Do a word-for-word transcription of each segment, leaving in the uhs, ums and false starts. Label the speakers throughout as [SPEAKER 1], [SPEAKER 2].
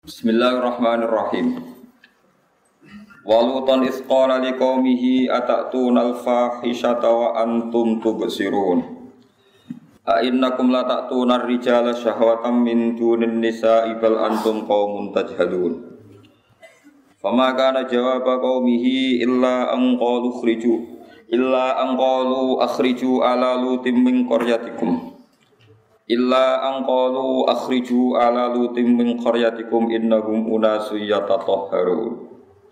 [SPEAKER 1] Bismillahirrahmanirrahim. Walutan isqala liqaumihi atatuna al-fahishata wa antum tubsirun. A innakum la ta'tuna ar-rijala syahwatan min dunin nisa'i bal antum qaumun tajhalun. Fama kana jawaba qaumihi illa an qalu ukhriju illa an qalu akhriju ala lutim min qaryatikum. Illa angqalu akhriju ala lutim min qaryatikum innahum unasu yatatahharun.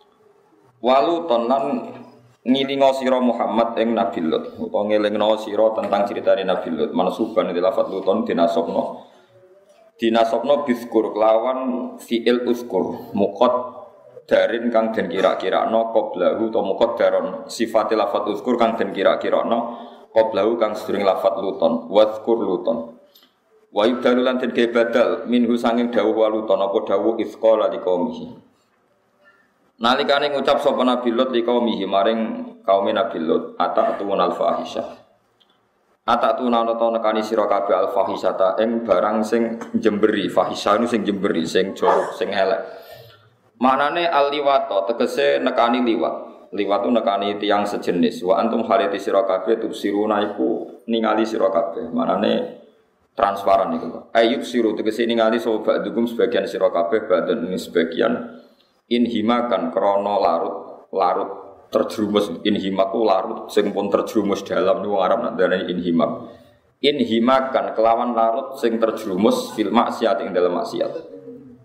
[SPEAKER 1] Waluton lan ngilingo sira Muhammad ing Nabi Lut utawa ngelingno sira tentang critane Nabi Lut mansuban di lafaz luton dinasabna dinasabna bizkur kelawan fi'il uzkur muqad darin kang den kira-kirakno qablahu utawa muqaddaron sifate lafaz uzkur kang den kira-kirakno qablahu kang sedurunge lafaz luton wazkur luton. Wa yubdalu lan den badal minhu sanging dawuh waluton apa dawuh isqala liqaumihi. Nalikane ngucap sapa Nabi Lut liqaumihi maring kaum Nabi Lut atatun al-fahisyah. Atatun ana ta nekani sira kabeh al-fahisyata ing barang sing jemberi, fahisyah sing jemberi, sing jorok, sing elek. Maknane al-liwata tegese nekani liwat. Liwat tu nekani tiyang sejenis. Wa antum hariti sira kabeh tubsiruna iku ningali sira kabeh. Maknane transparan itu. Ayub siru tegese ningali sapa ba'dugum sebagian sira kabeh badan ini sebagian inhimakan krana larut larut terjerumus inhimaku larut sing pun terjerumus dalam niku Arab nak darani inhimak. Inhimakan kelawan larut sing terjerumus fil maksiat ing dalam maksiat.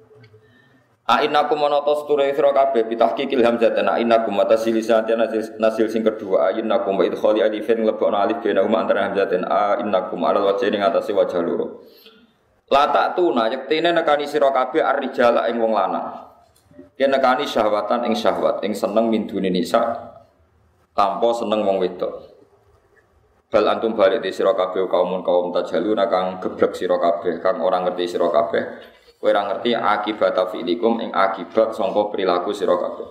[SPEAKER 1] A innakum monotos ture sira kabeh bitahqiqil hamzah ana innakum matasilisati nasil sing kedua a innakum wa idkhali alifin lebokno alif bena huma antara hamzah dan a innakum ala wajhi ning atase wajah loro. La ta'tuna yektene nekani sira kabeh ar-rijala ing wong lanang. Yen nekani syahwatan ing syahwat ing seneng min dunia nisa tanpa seneng wong wedok. Bal antum balik di sira kabeh kaum kaum tajhaluna kang geblek sira kabeh kang ora ngerti sira kabeh. Kowe ora ngerti akibat fi'likum ing akibat sangka perilaku sira kabeh.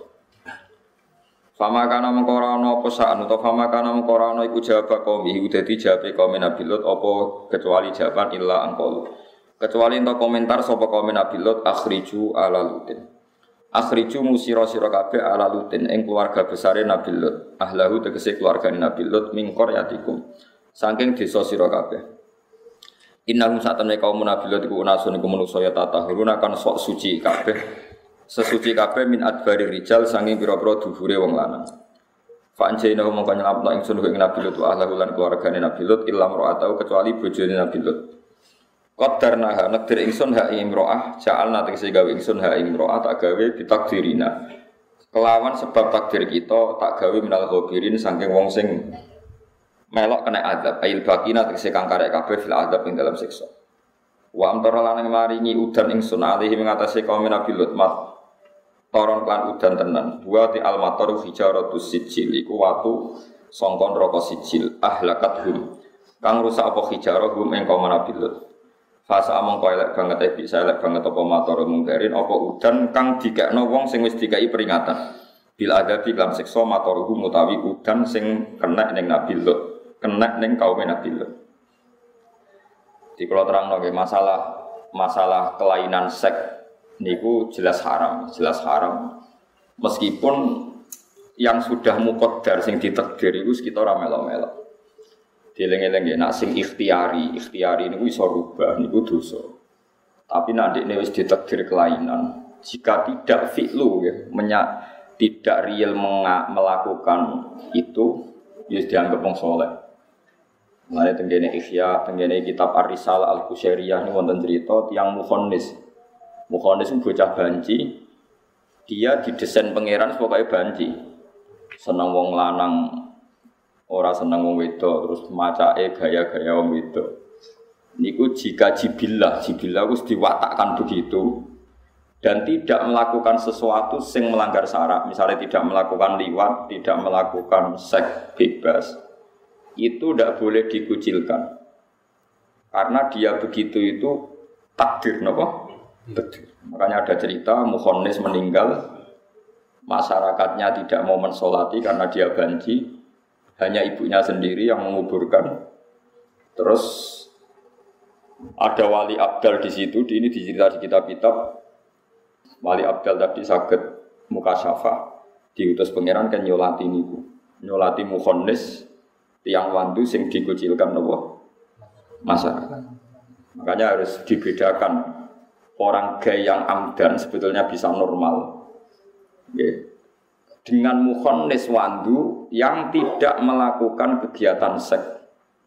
[SPEAKER 1] Fama kana mengko ora ana apa sak utawa fama kana mengko ora ana iku jawab kaum iku dadi jawabe kaum Nabi Lut apa kecuali jawaban illa angqalu. Kecuali ento komentar sapa kaum Nabi Lut akhriju ala lutin. Akhriju musira sira kabeh ala lutin ing keluarga besare Nabi Lut. Ahlahu tegese keluargane Nabi Lut min qaryatikum. Saking desa sira kabeh. Innahum satamne kaum Nabi Lut iku unasun iku manusa ya tatahurun akan sok suci kabeh. Sesuci kabeh min adbari rijal sanging pira-pira dhuwure wong lanang. Fa anjayna mongko nyelametno ingsun ing Nabi Lut wa ahlahu lan keluargane Nabi Lut illam ra'atau kecuali bojone Nabi Lut. Qadarna ha nakdir ingsun ha ing imro'ah ja'alna tegese gawe ingsun ha ing imro'ah tak gawe ditakdirina. Kelawan sebab takdir kita tak gawe minal ghabirin saking wong sing melok kena azab ail bakina tegese kang karek kabeh fil azab ing dalam siksa. Wa amtara lan maringi udan ingsun alihi mengatasi kaum Nabi Lut mat toron lan udan tenan. Wa ti al matar hijaratus sijil iku watu sangka neraka sijil ahlakat hum kang rusak apa hijarah hum ing kaum Nabi Lut. Fasa mongko elek banget e bisa elek banget apa matar mungkarin apa udan kang dikekno wong sing wis dikai peringatan. Bil adabi lan siksa matar hum utawi udan sing kena ning Nabi Lut. Kena ning kaum Nabi Lut. Di kalau terangno nggih masalah masalah kelainan seks niku jelas haram, jelas haram. Meskipun yang sudah muqaddar sing ditakdir iku sekitar ora melo-melo. Dieling-eling nggih nak sing ikhtiari, ikhtiari niku iso rubah niku dosa. Tapi nek ndekne wis ditakdir kelainan, jika tidak fi'lu nggih, menyak tidak real melakukan itu ya dianggap wong saleh. Mulai tenggene Ihya, tenggene kitab Ar-Risalah Al-Qusairiyah ini wonten cerita tiang mukhonis. Mukhonis itu bocah banci. Dia didesain pangeran sebagai banci. Seneng wong lanang, ora seneng wong wedok, terus macake gaya-gaya wong wedok. Niku jika jibillah, jibillah wis diwatakkan begitu dan tidak melakukan sesuatu sing melanggar syarat, misalnya tidak melakukan liwat, tidak melakukan seks bebas. Itu tidak boleh dikucilkan karena dia begitu itu takdir napa? Takdir. Makanya ada cerita mukhonis meninggal, masyarakatnya tidak mau mensolati karena dia banci, hanya ibunya sendiri yang menguburkan. Terus ada wali abdal di situ, ini dicerita di kitab-kitab Wali Abdal tadi saged mukasyafah diutus pangeran kan nyolati niku. Nyolati mukhannis tiyang wandu sing dikucilkan napa masyarakat. Makanya harus dibedakan orang gay yang amdan sebetulnya bisa normal. Okay. Dengan mukhannis wandu yang tidak melakukan kegiatan seks.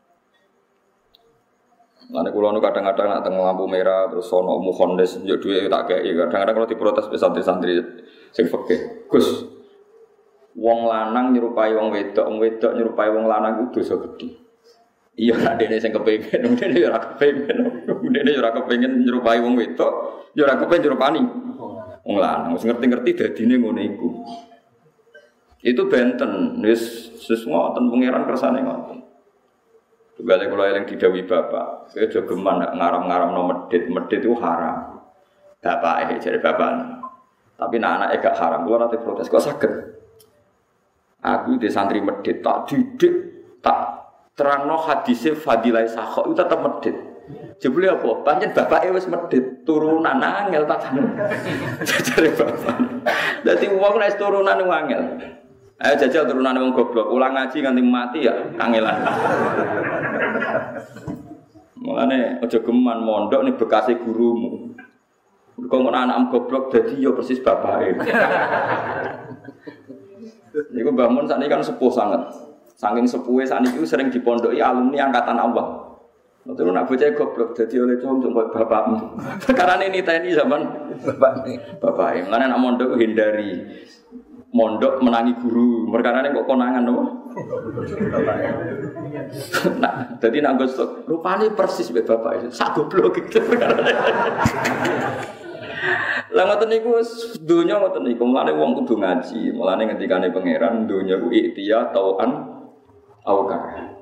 [SPEAKER 1] Lane kula nu kadang-kadang nak teng lampu merah terus sono mukhannis njuk dhuwit tak kei. Kadang-kadang kalau diprotes be santri-santri sing fikih. Gus, wong lanang nyerupai wong wedok, wong wedok nyerupai wong lanang itu dosa gedhe. Iya nek dene sing kepengin, dene yo ora kepengin. Dene yo ora kepengin nyerupai wong wedok, yo ora kepengin nyerupani wong lanang. Wis ngerti-ngerti dadine ngono iku. Itu benten, wis wis ngoten pangeran kersane ngoten. Tugale kula eling didhawuhi bapak, kowe aja geman ngaram-ngaramno medhit, medhit itu haram. Bapake jare bapak. Tapi nek anake gak haram, kula nate protes kok saged. Aku di santri medhit tak didik, tak terangno hadise fadilah sakho itu tetep medhit. Jebule apa? Pancen bapake wis medhit, turunan angel tak jare bapak. Dadi wong nek turunan angel. Ayo jajal turunane wong goblok, ulang ngaji nganti mati ya kangelan. Mulane aja geman mondok ning bekase gurumu. Kok ngono anak goblok dadi ya persis bapake. Niku Mbah Mun sakniki kan sepuh sanget. Saking sepuhe sakniki sering dipondoki alumni angkatan Allah. Terus nak bocah goblok dadi oleh cung koyo bapakmu. Karane niteni zaman bapake. Bapake. Mulane nak mondok hindari mondok menangi guru, perkarane kok konangan apa? Nah, dadi nak gosok, rupane persis mbek bapak itu. Sak goblok gitu. Lah ngoten niku donya ngoten niku, mulane wong kudu ngaji, mulane ngendikane pangeran donya ku iktiya tauan aukar.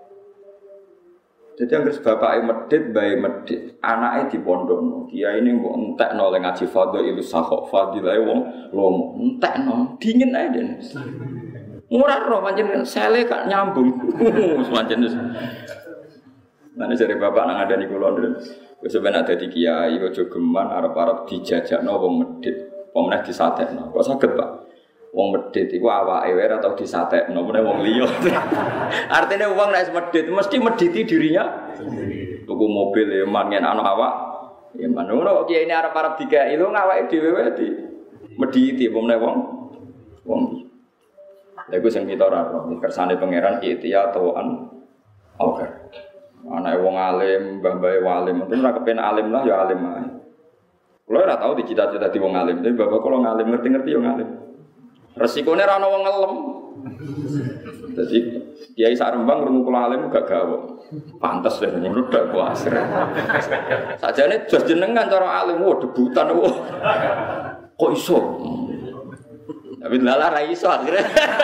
[SPEAKER 1] Jadi anggere bapake medhit, bae medhit, anake dipondokno. Kiai ini mbok entekno le ngaji fadhil sahok fadilae wong lomo. Entekno, dingin ae den. Ora ro pancen sele gak nyambung. Pancen wis. Mane jare bapak nang ngandani kula den. Wis ben ada di kiai aja geman arep-arep dijajakno wong medhit. Pemenah disatekno. Kok saged, Pak? Wong medhit iku awake wae ora tau disatekno, meneh wong liya. Artine wong nek medhit mesti medhiti dirinya sendiri. Tuku mobil ya mangen ana awak. Ya manono kiai ini arep-arep dikai lho awake dhewe wae di medhiti apa meneh wong wong. Lha iku sing kita ora ro, kersane pangeran ikhtiya tauan oker. Anake wong alim, mbah-mbahe walim, mungkin ora kepen alim lah ya alim ae. Kulo ora tau dicita-cita di wong alim, tapi bapak kula ngalim ngerti-ngerti ya ngalim. Resikone ra ono wong ngelem. Dadi kiai sak Rembang krungu kula alim gak gawe. Pantes lho ngono dak kuasir. Sajane jos jenengan cara alim wo debutan wo. Kok iso? Tapi lala ra iso akhire.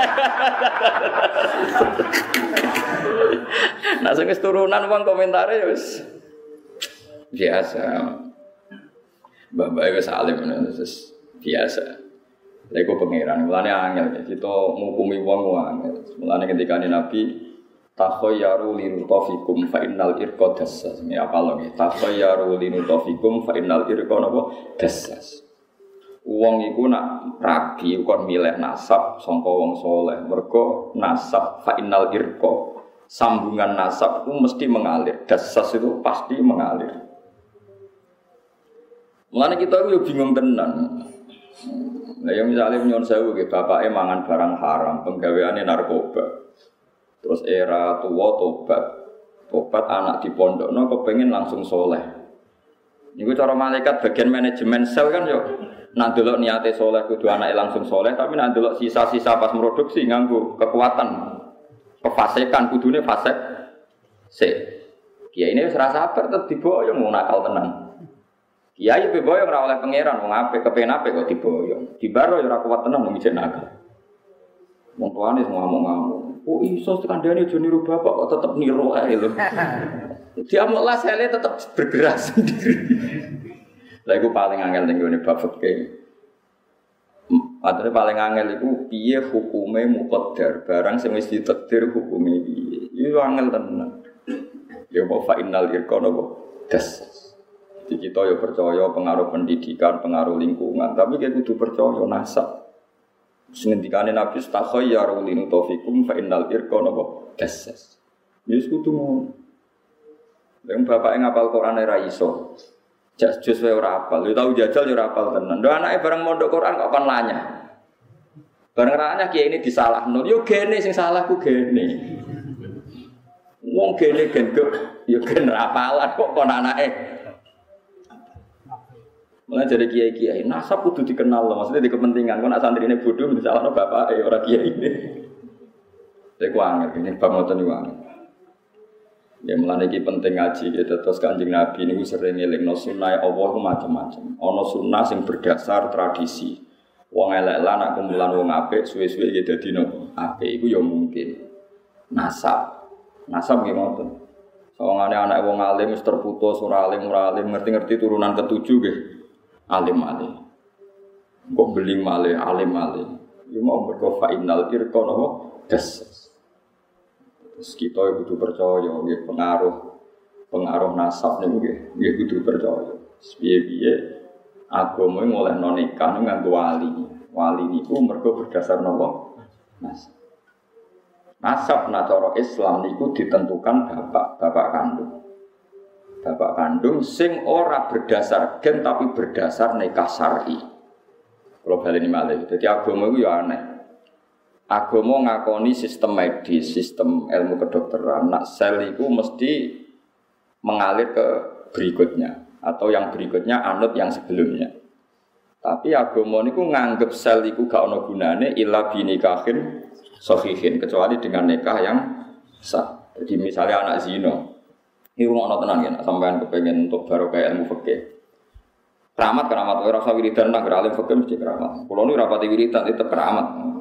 [SPEAKER 1] Nah sing wis turunan wong komentare wis biasa. Mbah-mbah wis alim ngono wis biasa. Lha iku pangeran, mulane angel kita ngukumi wong angel. Mulane ketika Nabi takhayyaru linutafikum fa innal irqa dassas. Ini apa lho nggih? Takhayyaru linutafikum fa innal irqa napa dassas. Wong iku nak rabi kon milih nasab sangka wong saleh. Mergo nasab fa innal irqa. Sambungan nasab itu mesti mengalir. Dassas itu pasti mengalir. Mulane kita yo bingung tenan. Nah, yang misalnya nyon sewu ke bapaknya mangan barang haram, penggaweannya narkoba. Terus era tua tobat, tobat anak di pondok, no kepengen langsung soleh. Ini cara malaikat bagian manajemen sel kan yo. Nak delok niate soleh kudu anake langsung soleh, tapi nak delok sisa-sisa pas produksi nganggo kekuatan, kefasikan kudune fasik. Se, kiai ini serasa sabar tetep diboyong mau nakal tenang. Kiai pe boyong ora oleh pangeran wong apik kepen apik kok diboyong. Dibaro ora kuat tenan wong ijek nakal. Wong tuane semua ngomong-ngomong. Oh iso kandhane aja niru bapak kok tetep niru ae lho. Dia mau lah sele tetep bergerak sendiri. Lah iku paling angel ning ngene bab fikih. Padahal paling angel iku piye hukume muqaddar, barang sing wis ditakdir hukume piye. Iku angel tenan. Ya apa fa innal irqa napa das. Di kita ya percaya pengaruh pendidikan, pengaruh lingkungan, tapi kita kudu percaya nasab. Sengendikane Nabi stakhayyaru linutofikum fa innal irqa napa dasas. Wis kudu ngono. Yang bapak yang ngapal Quran ora iso. Jak jus wae ora apal. Yo tau jajal yo ora apal tenan. Lho anake bareng mondok Quran kok kon lanyah. Bareng ranya kiai ini disalahno. Yo gene sing salah ku gene. Wong gene genduk yo gen apalan kok kon anake. Mulai jadi kiai-kiai nasab kudu dikenal loh. Maksudnya di kepentingan kon santrine bodoh disalahno bapake ora kiai ini. Lha ku angel ini bab ngoten niku angel. Ya mulane iki penting ngaji gitu terus Kanjeng Nabi niku sering ngelingno sunah Allah ku macam-macam. Ana sunah sing berdasar tradisi. Wong elek lan nak kumpulan wong apik suwe-suwe iki dadi nopo? Apik iku ya mungkin. Nasab. Nasab nggih ngoten. Sawangane anak wong alim wis terputus ora alim ora alim ngerti-ngerti turunan ketujuh nggih. Alim-alim. Kok beli malih alim-alim. Iku mau mergo fa innal irqa nopo? Das. Terus kita kudu percaya nggih pengaruh pengaruh nasab niku nggih nggih kudu percaya. Piye-piye agama ngolehno nikah nganggo wali. Wali niku mergo berdasar napa? Nasab. Nasab nak cara Islam niku ditentukan bapak, bapak kandung. Bapak kandung sing ora berdasar gen tapi berdasar nikah syar'i. Kalau baleni malih. Dadi agama iku ya aneh. Agama ngakoni sistem medis, sistem ilmu kedokteran. Nak sel itu mesti mengalir ke berikutnya atau yang berikutnya anut yang sebelumnya. Tapi agama niku nganggep sel itu gak ono gunane illa binikahin sahihin kecuali dengan nikah yang sah. Jadi misalnya anak zina, ini rumah tenan kan, sampean kepengen untuk barokah ilmu fikih. Keramat keramat, ora usah wiridan nang alim fikih mesti keramat. Kulo nu rapati wiridan itu keramat.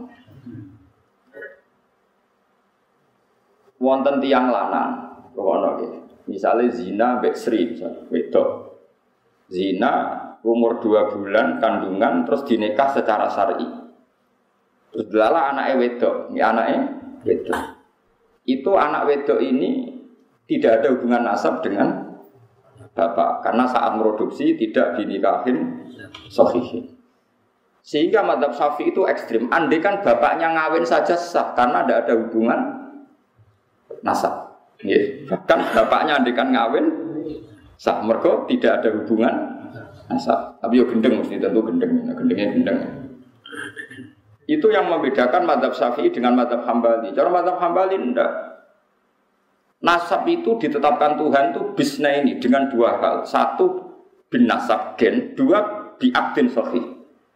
[SPEAKER 1] Wonten tiang lanang, rokono nggih. Misale zina mbek Sri, wedok. Zina umur dua bulan kandungan terus dinikah secara syar'i. Terus delala anake wedok, iki anake wedok. Itu anak wedok ini tidak ada hubungan nasab dengan bapak karena saat produksi tidak dinikahin sahihin. Sehingga mazhab Syafi'i itu ekstrim. Andai kan bapaknya ngawin saja sah karena tidak ada hubungan nasab. Nggih, bahkan bapaknya andikan ngawin sah mergo tidak ada hubungan nasab. Tapi yo gendeng mesti tentu gendeng, gendengnya gendeng. Itu yang membedakan mazhab Syafi'i dengan mazhab Hambali. Cara mazhab Hambali ndak. Nasab itu ditetapkan Tuhan itu bisna ini dengan dua hal. Satu bin nasab gen, dua bi akdin sahih.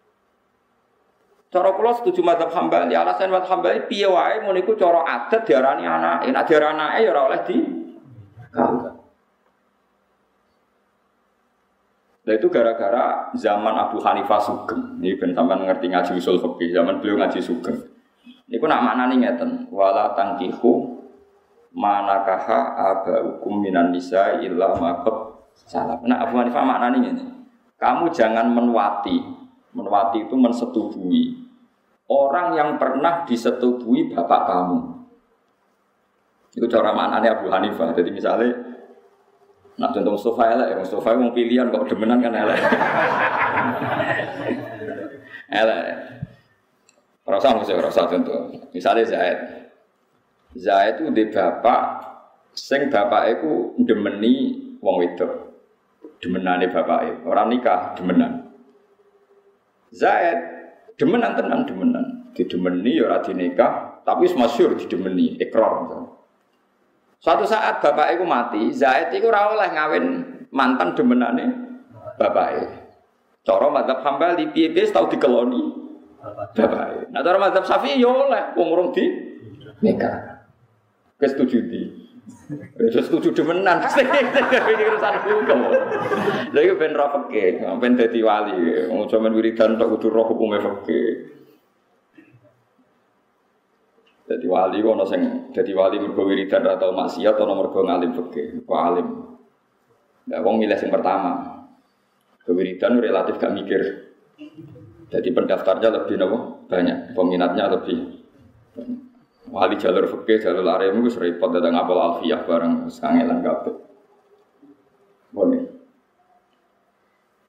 [SPEAKER 1] Cara kula setuju mazhab Hambali, alasan mazhab Hambali piye wae ngono iku cara adat diarani anake, nek diarani anake ya ora oleh di kawin. Nah itu gara-gara zaman Abu Hanifah Sugeng. Ini ben sampean ngerti ngaji usul fikih, zaman beliau ngaji Sugeng. Niku nak maknane ngeten, wala tangkihu manakaha abaukum minan nisa illa maqad salam. Nah Abu Hanifah maknane ngene. Kamu jangan menwati. Menwati itu mensetubuhi orang yang pernah disetubuhi bapak kamu. Itu cara maknanya Abu Hanifah. Jadi misalnya, nak contoh Mustafa elek, Mustafa mau pilihan kok demenan kan elek. Elek. Rasa mesti rasa contoh. Misalnya Zaid. Zaid itu di bapak, sing bapak itu demeni wong wedok. Demenane bapak orang nikah demenan. Zaid demenan tenan demenan, didemeni ya ora dinikah, tapi masyhur didemeni ikrar misalnya. Suatu saat bapak iku mati, Zaid iku ora oleh ngawin mantan demenane bapake. Cara mazhab Hambali piye-piye tau dikeloni bapake. Nah cara mazhab Syafi'i ya oleh wong urung di nikah. Wis setuju di. Wis setuju demenan. Iki urusan hukum. Lha iki ben ra fikih, ben dadi wali. Wong sampean wiridan tok kudu roh hukume fikih. Dadi wali kok ana sing dadi wali mergo wiridan ra tau maksiat ana mergo ngalim fikih, kok alim. Lah wong milih sing pertama. Kewiridan relatif gak mikir. Jadi pendaftarnya lebih nopo banyak, peminatnya lebih banyak. Wali jalur fikih, jalur arem itu repot datang apal alfiyah bareng sangelan kabeh. Boleh.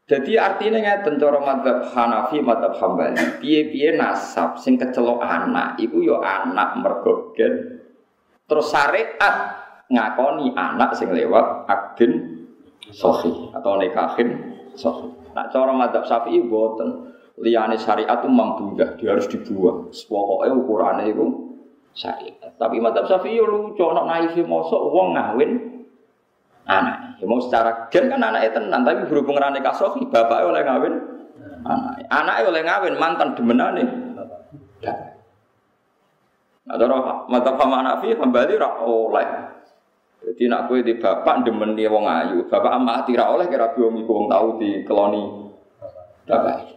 [SPEAKER 1] Jadi artinya ngeten cara madzhab Hanafi, madzhab Hambali, piye-piye nasab sing kecelok anak iku ya anak mergo gen. Terus syariat ngakoni anak sing lewat akdin sahih atau nikahin sahih. Nah cara madzhab Syafi'i boten. Liyane syariat itu mambudah, dia harus dibuang. Pokoke ukurane iku syariat. Tapi madzhab Syafi'i yo lucu, ana naife mosok wong ngawin anak, ya mau secara gen kan anaknya tenan, tapi berhubung rane kasohi, bapaknya oleh ngawin anak, anaknya oleh ngawin mantan demenane. Nah, cara mata pama Hanafi kembali rak oleh. Jadi nak kue di bapak demeni wong ayu, bapak amati rak oleh kira biong iku wong tau di keloni bapak.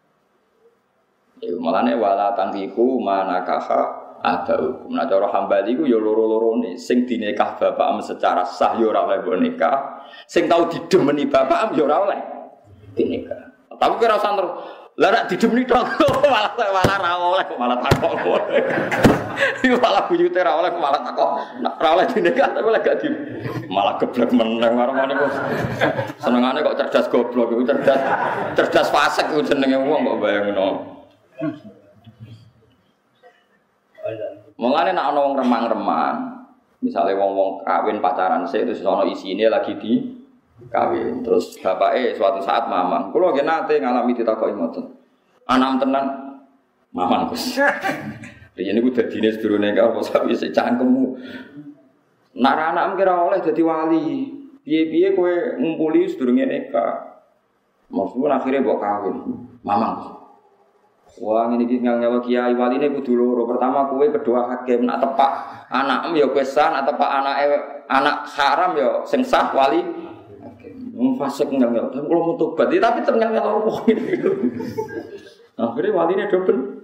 [SPEAKER 1] Ya malane wala tangkiku manakaha ada hukum. Nah cara Hambali ku ya loro-lorone sing dinikah bapak secara sah ya ora oleh nikah, sing tau didemeni bapak ya ora oleh dinikah. Tapi kira usah terus lah nek didemeni tok malah malah ra oleh malah takok. Iku malah buyute ra oleh malah takok. Nek ra oleh dinikah tapi oleh gak di malah geblek meneng marane kok. Senengane kok cerdas goblok iku cerdas cerdas fasik iku jenenge wong kok bayangno. Mulane nek ana wong remang-remang, misale wong-wong kawin pacaran sik terus ana isine lagi di kawin. Terus bapake suatu saat mamang, kula nggih nate ngalami ditakoki ngoten. Anak tenan mamang Gus. Riyen niku dadine sedurunge karo sapi sik cangkemmu. Nek anak kira oleh dadi wali, piye-piye kowe ngumpuli sedurunge nikah. Maksudku akhire mbok kawin. Mamang. Wah ngene iki ngel-ngel kiai waline kudu loro. Pertama kowe kedua hakim nak tepak anakmu ya kowe sah, nak tepak anake anak haram ya sing sah wali. Wong fasik ngel-ngel. Tapi kalau mau tobat tapi ternyata opo gitu. Akhire waline dobel.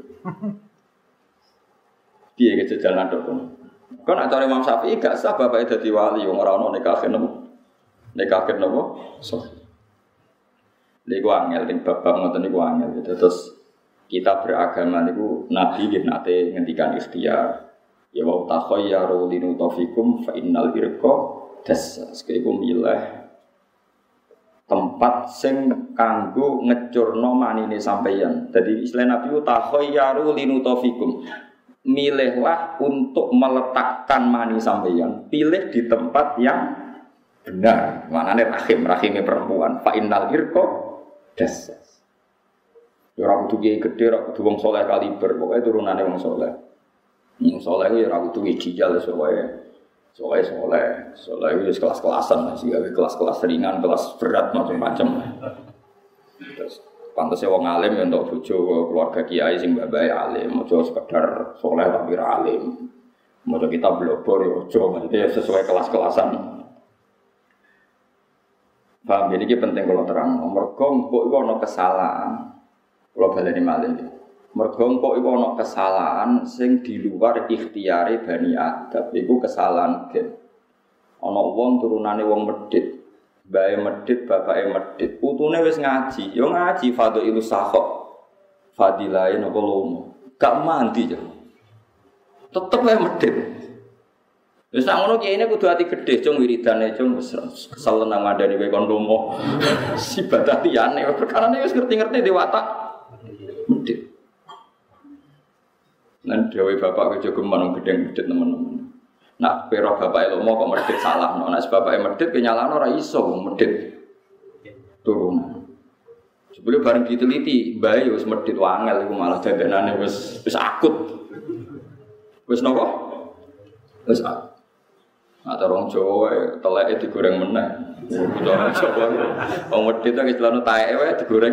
[SPEAKER 1] Piye kejajalan dobel. Kok nak cari Imam Syafi'i gak sah bapake dadi wali wong ora ono nikahin nopo. Nikahin nopo? So. Niku angel ning babak ngoten niku angel. Terus kita beragama niku Nabi nggih nate ngendikan ikhtiar. Ya wa takhayyaru linutafikum fa innal irqa dassas. Iku milih tempat sing kanggo ngecurno manine sampeyan. Jadi istilah Nabi ku takhayyaru linutafikum. Milihlah untuk meletakkan mani sampeyan. Pilih di tempat yang benar. Manane rahim, rahime perempuan. Fa innal irqa dassas. Ya ora kudu kiai gedhe, ora kudu wong saleh kaliber, pokoke turunane wong saleh. Wong saleh ya ora kudu ijal sowae. Sowae saleh, saleh wis kelas-kelasan, sing gawe kelas-kelas ringan, kelas berat macam-macam. Terus pantese wong alim ya entuk bojo keluarga kiai sing babae alim, aja sekedar saleh tapi ra alim. Maca kitab blobor ya aja, maksudnya sesuai kelas-kelasan. Paham ini penting kalau terang. Mergo kok iku ana kesalahan. Kalau baleni malih, mergo kok iku ana kesalahan sing di luar ikhtiare Bani Adam, iku kesalahan gen. Ana wong turunane wong medhit, bae medhit, bapake medhit, putune wis ngaji, yo ngaji fadhilus sakhok. Fadilahe napa lomo, gak mandi yo. Tetep wae medhit. Wis sak ngono kiyene kudu ati gedhe, cung wiridane cung wis kesel nang ngandani kowe kon lomo. Sibadah liyane perkarane wis ngerti-ngerti di watak. Medit. Nan dhewe bapak kejogeman gedeng-gedhet teman-teman. Nak pero bapak lomo kok medit salah, nek bapake medit kenyalano ora iso medit. Turun. Sebelum bareng diteliti, bae wis medit wangel iku malah dandanane wis wis akut. Wis napa? Wis akut. Nah, orang Jawa teleke digoreng meneh. Orang Jawa wong medit iki celana taeke wae digoreng.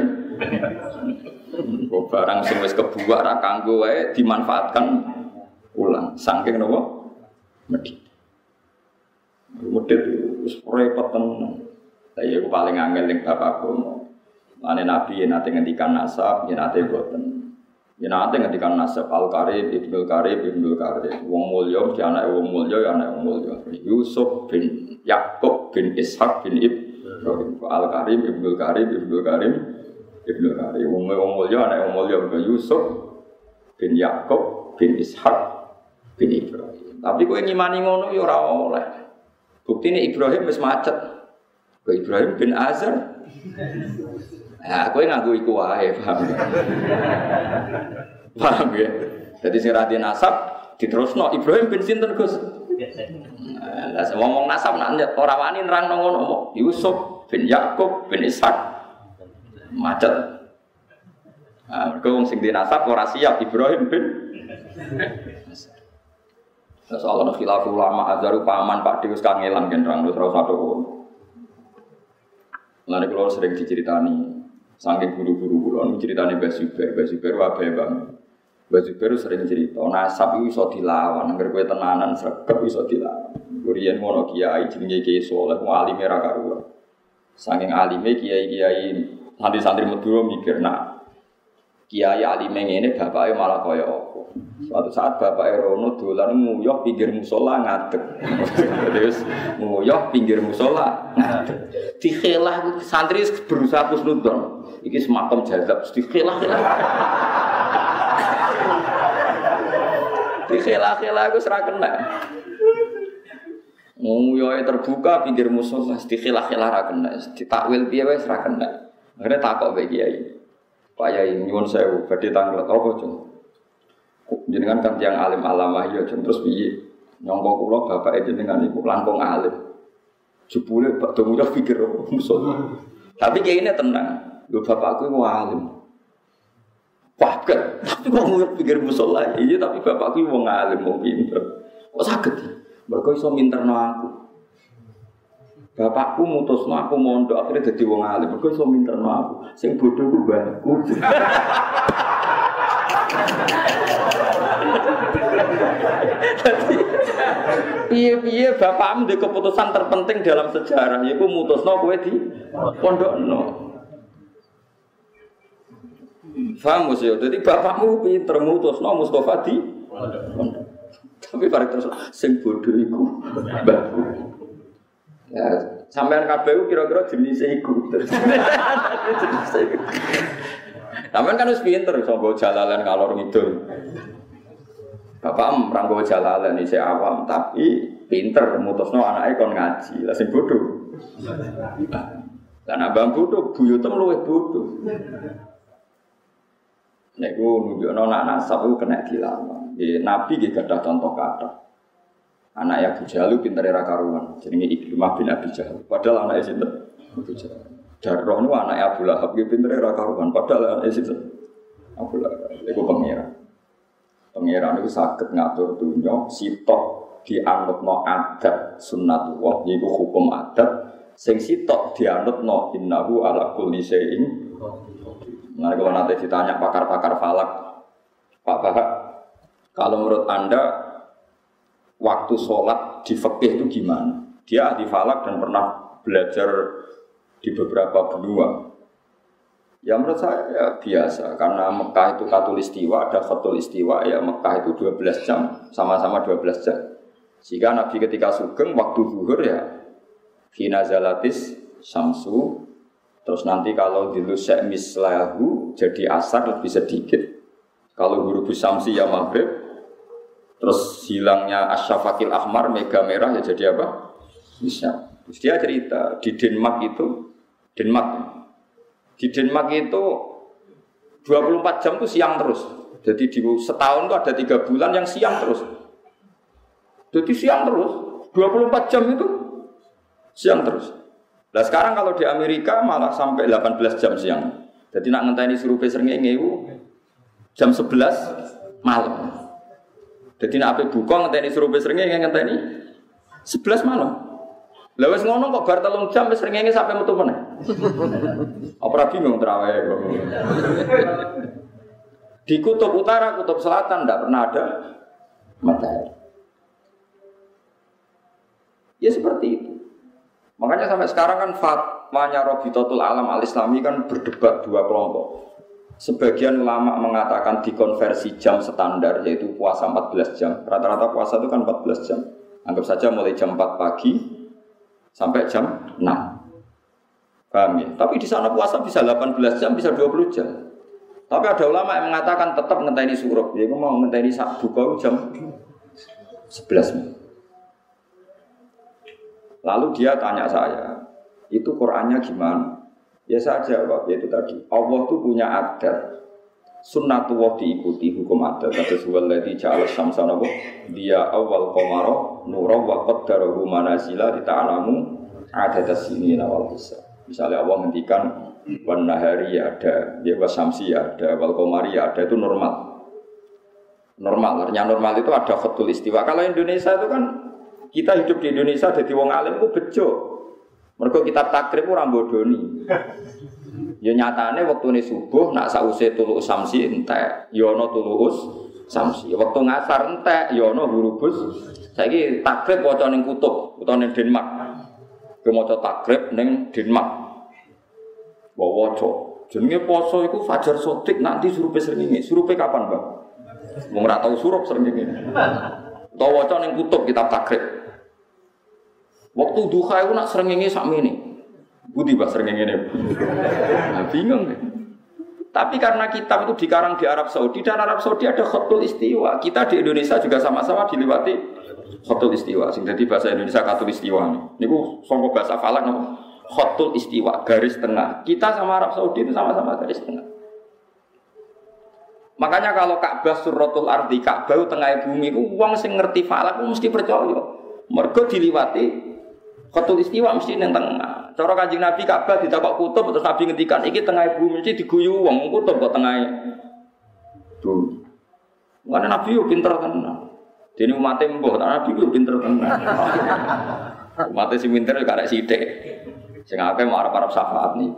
[SPEAKER 1] Kok barang sing wis kebuak ra kanggo wae dimanfaatkan ulang. Saking napa? Medhit. Medhit wis repot tenan. Lah iya ku paling angel ning bab agama. Mane Nabi yen nate ngendikan nasab, yen nate boten. Yen nate ngendikan nasab Al-Qarib, Ibnul Qarib, Ibnul Qarib. Wong mulya mesti anake wong mulya ya anake wong mulya. Yusuf bin Yakub bin Ishaq bin Ibrahim. Al-Qarib, Ibnul Qarib, Ibnul Qarib. Ibnu Kari, wong wong mulya anak wong mulya bin Yusuf bin Yakub bin Ishaq bin Ibrahim. Tapi kowe ngimani ngono ya ora oleh. Buktine Ibrahim wis macet. Kowe Ibrahim bin Azar. Nah, kowe nganggo iku wae, paham. Paham ya? Jadi sing ra nasab diterusno Ibrahim bin sinten Gus? Lah ngomong nasab nak ora wani nerangno ngono Yusuf bin Yakub bin Ishak macet. Ah, mergo wong sing dinasab ora siap Ibrahim bin. Soalnya khilaf ulama azaru paman Pak Deus kangelan kan terang terus satu. Lalu kalau sering diceritani, saking guru-guru kulon diceritani Mbah Zubair, Mbah Zubair wae bang. Mbah Zubair sering cerita, nasab itu iso dilawan, angger kowe tenanan sregep iso dilawan. Kuriyen ngono kiai jenenge Kiai Saleh, alime ra karuan. Saking alime kiai-kiai santri-santri Madura mikir, nah kiai alime ngene bapake malah kaya apa. Suatu saat bapake rono dolan nguyuh pinggir musala ngadeg. Terus nguyuh pinggir musala ngadeg. Dikhelah santri berusaha kusnudon. Iki semakom jazab dikhelah-khelah. Dikhelah-khelah aku ora kena. Nguyuhe terbuka pinggir musala dikhelah-khelah ra kena. Ditakwil piye wis ra kena. Akhire takok mbek kiai. Pak Yai nyuwun sewu badhe tanglet apa, Cung? Jenengan kan tiyang alim alamah ya terus piye nyangka kula bapake jenengan iku langkung alim jebule bak domunya pikir musuh tapi kayaknya tenang lho bapakku iku alim wah kan tapi kok ngono pikir musuh lah iya tapi bapakku wong alim wong pinter kok saged mergo iso minterno aku bapakku mutusno aku mondok akhirnya dadi wong alim mergo iso minterno aku sing bodho ku mbahku. Piye-piye bapakmu ndek keputusan terpenting dalam sejarah yaiku mutusno kowe di pondokno. Paham mesti yo. Dadi bapakmu pinter mutusno Mustofa di pondok. Tapi bareng terus sing bodho iku mbahku. Ya, sampean kabeh kira-kira jenis iku. Sampeyan kan wis pinter iso nggo jalalan ngalor ngidul. Bapak em ora nggo jalalan isih awam tapi pinter mutusno anake kon ngaji. Lah sing bodho. Lah nek abang bodho buyutem luwih bodho. Nek ku nunjukno nak nasab iku kena dilawan. Nggih nabi nggih gadah contoh kathah. Anak Abu Jahal pintere ra karuan jenenge Ikrimah bin Abi Jahal. Padahal anake sinten? Abu Jahal. Darah nu anak Abu Lahab ki pintere ra karuan padahal anak sinten? Abu Lahab. Iku pangeran. Pangeran itu saged ngatur dunya sitok dianutno adat sunnatullah yaiku hukum adat sing sitok dianutno innahu ala kulli syai'in. Nah kalau nanti ditanya pakar-pakar falak, Pak Bahak, kalau menurut Anda waktu sholat di fikih itu gimana? Dia ahli falak dan pernah belajar di beberapa benua. Ya menurut saya ya biasa, karena Mekah itu katulistiwa, ada khatulistiwa, ya Mekah itu dua belas jam, sama-sama dua belas jam. Sehingga Nabi ketika sugeng waktu zuhur ya hina zalatis syamsu, terus nanti kalau dilusek mislahu jadi asar lebih sedikit. Kalau huruf syamsi ya maghrib, terus hilangnya asyafakil ahmar mega merah ya jadi apa? Bisa. Terus dia cerita di Denmark itu, Denmark di Denmark itu dua puluh empat jam itu siang terus. Jadi di setahun itu ada tiga bulan yang siang terus. Jadi siang terus, dua puluh empat jam itu siang terus. Nah sekarang kalau di Amerika malah sampai delapan belas jam siang. Jadi nak ngenteni surupe srengenge iku jam sebelas malam. Jadi nak ape buka ngenteni surupe srengenge ngenteni sebelas malam. Lah wis ngono kok bar telung jam wis srengenge sampai metu meneh. Apa bingung terawih kok. Di kutub utara, kutub selatan ndak pernah ada matahari. Ya seperti itu. Makanya sampai sekarang kan fatwanya Rabitatul Alam Al-Islami kan berdebat dua kelompok. Sebagian ulama mengatakan dikonversi jam standar yaitu puasa empat belas jam. Rata-rata puasa itu kan empat belas jam. Anggap saja mulai jam empat pagi sampai jam enam. Paham ya? Tapi di sana puasa bisa delapan belas jam, bisa dua puluh jam. Tapi ada ulama yang mengatakan tetap ngenteni suruh. Dia mau ngenteni sak buka jam sebelas. Lalu dia tanya saya, itu Qur'annya gimana? Ya saja Pak, itu tadi. Allah itu punya adat. Sunnatullah diikuti hukum adat. Kata suwallazi ja'ala syamsa nabu dia awal qamara nura wa qaddarahu manazila lita'lamu adadas sinina wal hisab. Misalnya Allah ngendikan wan nahari ada, dia was syamsi ada, wal qamari ada, itu normal. Normal, artinya normal itu ada khatul istiwa. Kalau Indonesia itu kan kita hidup di Indonesia jadi wong alim ku bejo. Mergo kitab takrib ora bodoni. Ya nyatane wektune subuh nak sause tulu samsi entek, ya ana tulu samsi. Wektu ngasar entek, ya ana hurubus. Saiki takrib waca ning kutub, utawa ning Denmark. Ke maca takrib ning Denmark. Wa waca. Jenenge poso iku fajar sotik nanti surupe srengenge. Surupe kapan, Mbak? Wong ora tau surup srengenge. Utawa waca ning kutub kitab takrib. Waktu duha iku nak srengenge sakmene. Budi bahasa ngene nah, bingung deh. Tapi karena kitab itu dikarang di Arab Saudi, dan Arab Saudi ada khatul istiwa. Kita di Indonesia juga sama-sama diliwati khatul istiwa. Sing dadi bahasa Indonesia khatul istiwa. Niku sangka bahasa Falak napa? Khatul istiwa, garis tengah. Kita sama Arab Saudi itu sama-sama garis tengah. Makanya kalau Ka'bah Suratul Ardi, Ka'bah tengah bumi ku wong sing ngerti Falak ku mesti percaya. Mergo diliwati khatul istiwa mesti ning tengah. Cara Kanjeng Nabi Ka'bah ditakok kutub terus Nabi ngendikan iki tengah bumi mesti diguyu wong kutub kok tengahe. Tuh. Ngene Nabi yo pinter tenan. Dene umate mbah, Nabi yo pinter tenan. Umate sing pinter yo karek sithik. Sing akeh mau arep-arep syafaat niku.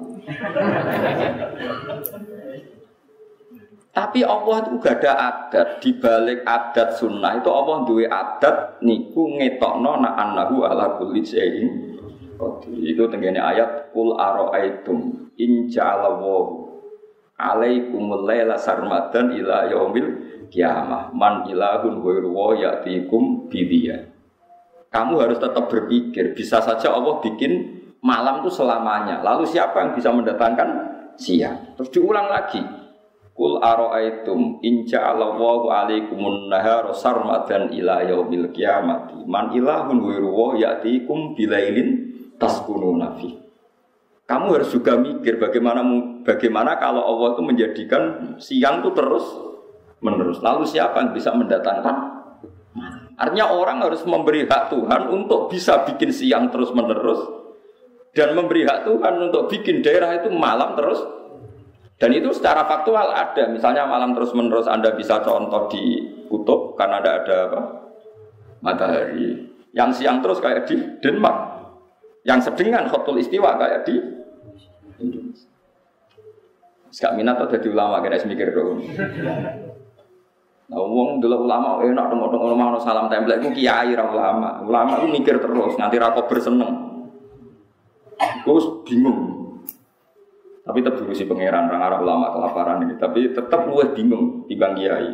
[SPEAKER 1] Tapi Allah itu gak ada adat, di balik adat sunnah itu Allah duwe adat niku ngetokno na annahu ala kulli syai'in. Itu tenggene ayat qul ara'aitum in ja'alallahu alaikumul laila sarmadan ila yaumil qiyamah man ilahun ghairu wa ya'tikum bidiya. Kamu harus tetap berpikir, bisa saja Allah bikin malam itu selamanya. Lalu siapa yang bisa mendatangkan siang? Terus diulang lagi. Qul ara'aitum in ja'alallahu alaikumun nahara sarmadan ila yaumil qiyamati man ilahun ghairu wa ya'tikum bilailin taskununa fi. Kamu harus juga mikir bagaimana bagaimana kalau Allah itu menjadikan siang itu terus menerus. Lalu siapa yang bisa mendatangkan? Artinya orang harus memberi hak Tuhan untuk bisa bikin siang terus menerus dan memberi hak Tuhan untuk bikin daerah itu malam terus. Dan itu secara faktual ada. Misalnya malam terus menerus Anda bisa contoh di kutub karena ada ada apa? Matahari. Yang siang terus kayak di Denmark. Yang sedengan khatul istiwa kayak di Indonesia. Sekak minat atau jadi ulama kena mikir dong. Nah, wong dulu ulama enak tengok-tengok ulama ono salam template ku kiai ra ulama. Ulama ku mikir terus nganti ra kober seneng. Terus bingung. Tapi tetap diurusi pangeran orang Arab ulama kelaparan ini. Tapi tetap luwih bingung timbang kiai.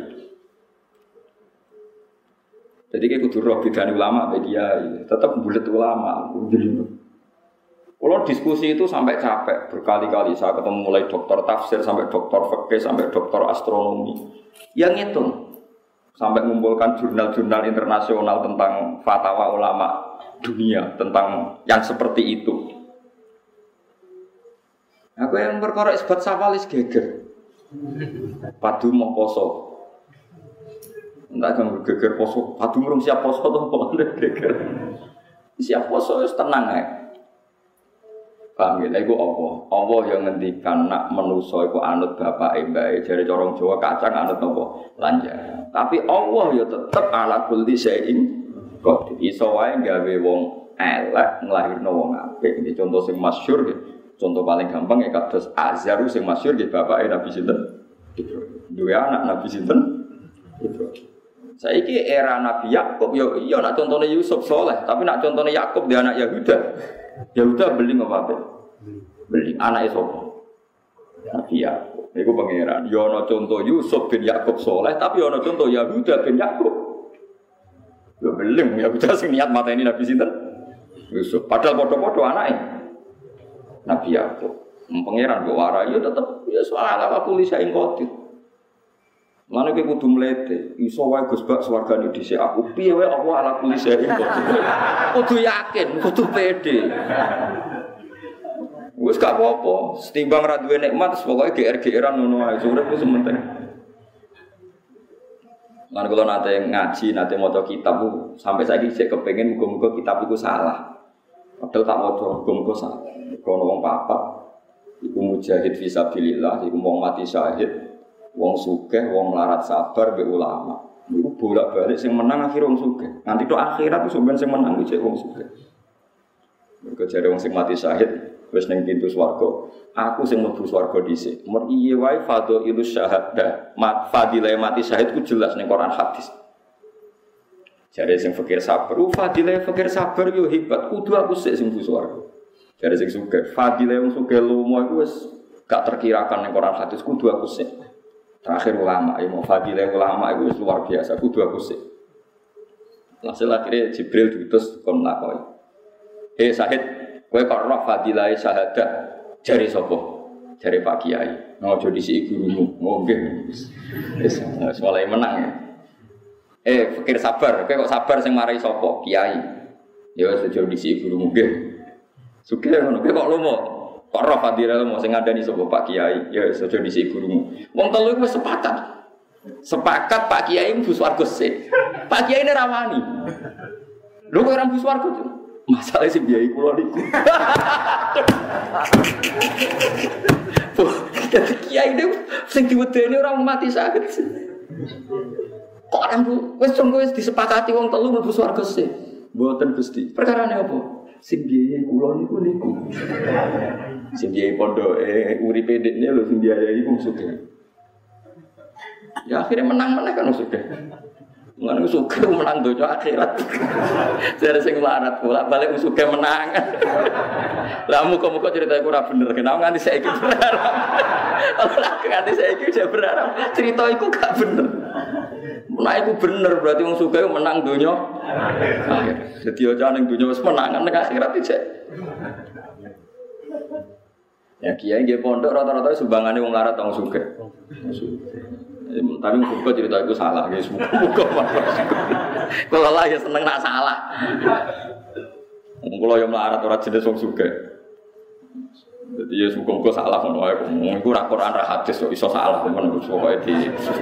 [SPEAKER 1] Jadi kayak kudu roh bedane ulama be kiai. Tetap bulet ulama. Kalau diskusi itu sampai capek berkali-kali. Saya ketemu mulai dokter tafsir sampai dokter fikih sampai dokter astronomi. Yang itu sampai mengumpulkan jurnal-jurnal internasional tentang fatwa ulama dunia tentang yang seperti itu. Aku yang berkorek sebat sawalis geger. Padu mau poso. Entah kan geger poso. Padu merung siap poso tuh mau geger. Siap poso itu tenang ya. Paham ya? Itu Allah. Allah yang ngendikan nak menuso iku anut bapak mbake jare corong Jawa kacang anut apa? Lanjar. Tapi Allah ya tetep ala kulli syai'in qadir. Iso wae gawe wong elek nglahirno wong apik. Iki contoh sing masyhur nggih. Contoh paling gampang ya kados Azhar sing masyhur nggih bapake Nabi sinten? Ibrahim. Duwe anak Nabi sinten? Ibrahim. Saiki era Nabi Yakub yo iya nak contone Yusuf soleh, tapi nak contone Yakub dia anak Yahuda. Yahuda beli apa? Beli anake sapa? Nabi Yakub. Iku pangeran. Yo ana contoh Yusuf bin Yakub soleh, tapi ana contoh Yahuda bin Yakub. Yo beli Yahuda sing niat mateni Nabi sinten? Yusuf. Padahal padha-padha anake Nabi Yakub. Pangeran kok warai yo tetep ya soal ala kulisa ing qadir. Mana kita kudu melete, iso wae Gus Bak swargane dhisik aku. Piye wae Allah ala kulli syai'in qadir. Kudu yakin, kudu pede. Wis gak apa-apa, setimbang ra duwe nikmat pokoke G R G R-an ngono ae, urip wis penting. Lan kula nate ngaji, nate maca kitab bu, sampai saiki sik kepengin muga-muga kitab iku salah. Padahal tak maca muga-muga salah. Kono wong papat iku mujahid fisabilillah, iku wong mati syahid, wong sugih, wong melarat sabar mbek ulama. Iku bolak-balik sing menang akhir wong sugih. Nanti tok akhirat iku sampeyan sing menang iki wong sugih. Mergo jare wong sing mati syahid wis ning pintu swarga. Aku sing mlebu swarga dhisik. Mun iye wae fadhailus syahadah. Mat fadilah mati syahid ku jelas ning Quran hadis. Jare sing fakir sabar, uh fadilah fakir sabar yo hebat. Kudu aku sik sing mlebu swarga. Jare sing sugih, fadilah wong sugih lomo iku wis gak terkirakan ning Quran hadis, kudu aku sik. Terakhir ulama, ya mau fadilah ulama itu wis luar biasa, kudu aku sik. Hasil akhirnya Jibril diutus kon lakoni. Eh Syahid, kowe kok roh fadilah syahadah jari sapa? Jari Pak Kiai. Ngojo disi gurumu. Oh nggih. Wis wis mulai menang ya. Eh fikir sabar, kowe kok sabar sing marai sapa? Kiai. Ya wis ojo disi gurumu nggih. Sugih ngono, kowe kok lomo. Kok roh fadilah lomo sing ngandani sapa Pak Kiai. Ya wis ojo disi gurumu. Wong telu iku wis sepakat. Sepakat Pak Kiai mlebu swarga sik. Pak Kiai ini rawani. Lho kok ora mlebu swarga tuh? Masalah sing biayai kula niku. Dadi kiai niku sing diwedeni ora mati sakit. Kok ora mlebu wis sungguh wis disepakati wong telu mlebu swarga sik. Mboten Gusti. Perkarane apa? Sing biayai kula niku niku. Sing biayai pondoke uripe dekne lho sing biayai wong sugih. Ya akhirnya menang-menang kan sudah. Menang suka menang dojo akhirat. Saya sing larat pula balik suka menang. Lah muka-muka cerita iku ora bener. Kenapa nganti saiki berharap? Ora nganti saiki udah berharap. Cerita iku gak bener. Menawa iku bener berarti wong suka menang donya akhir. Dadi aja ning donya wis menangan ning akhirat iki. Ya kiai nggih pondok rata-rata sumbangane wong larat wong suka. Tapi muka cerita itu salah, guys. Muka kalau lah ya seneng nak salah. Kalau yang melarat orang jenis wong suka. Jadi ya muka salah kan? Mungkin Quran ra hadis kok iso salah teman. Pokoknya di.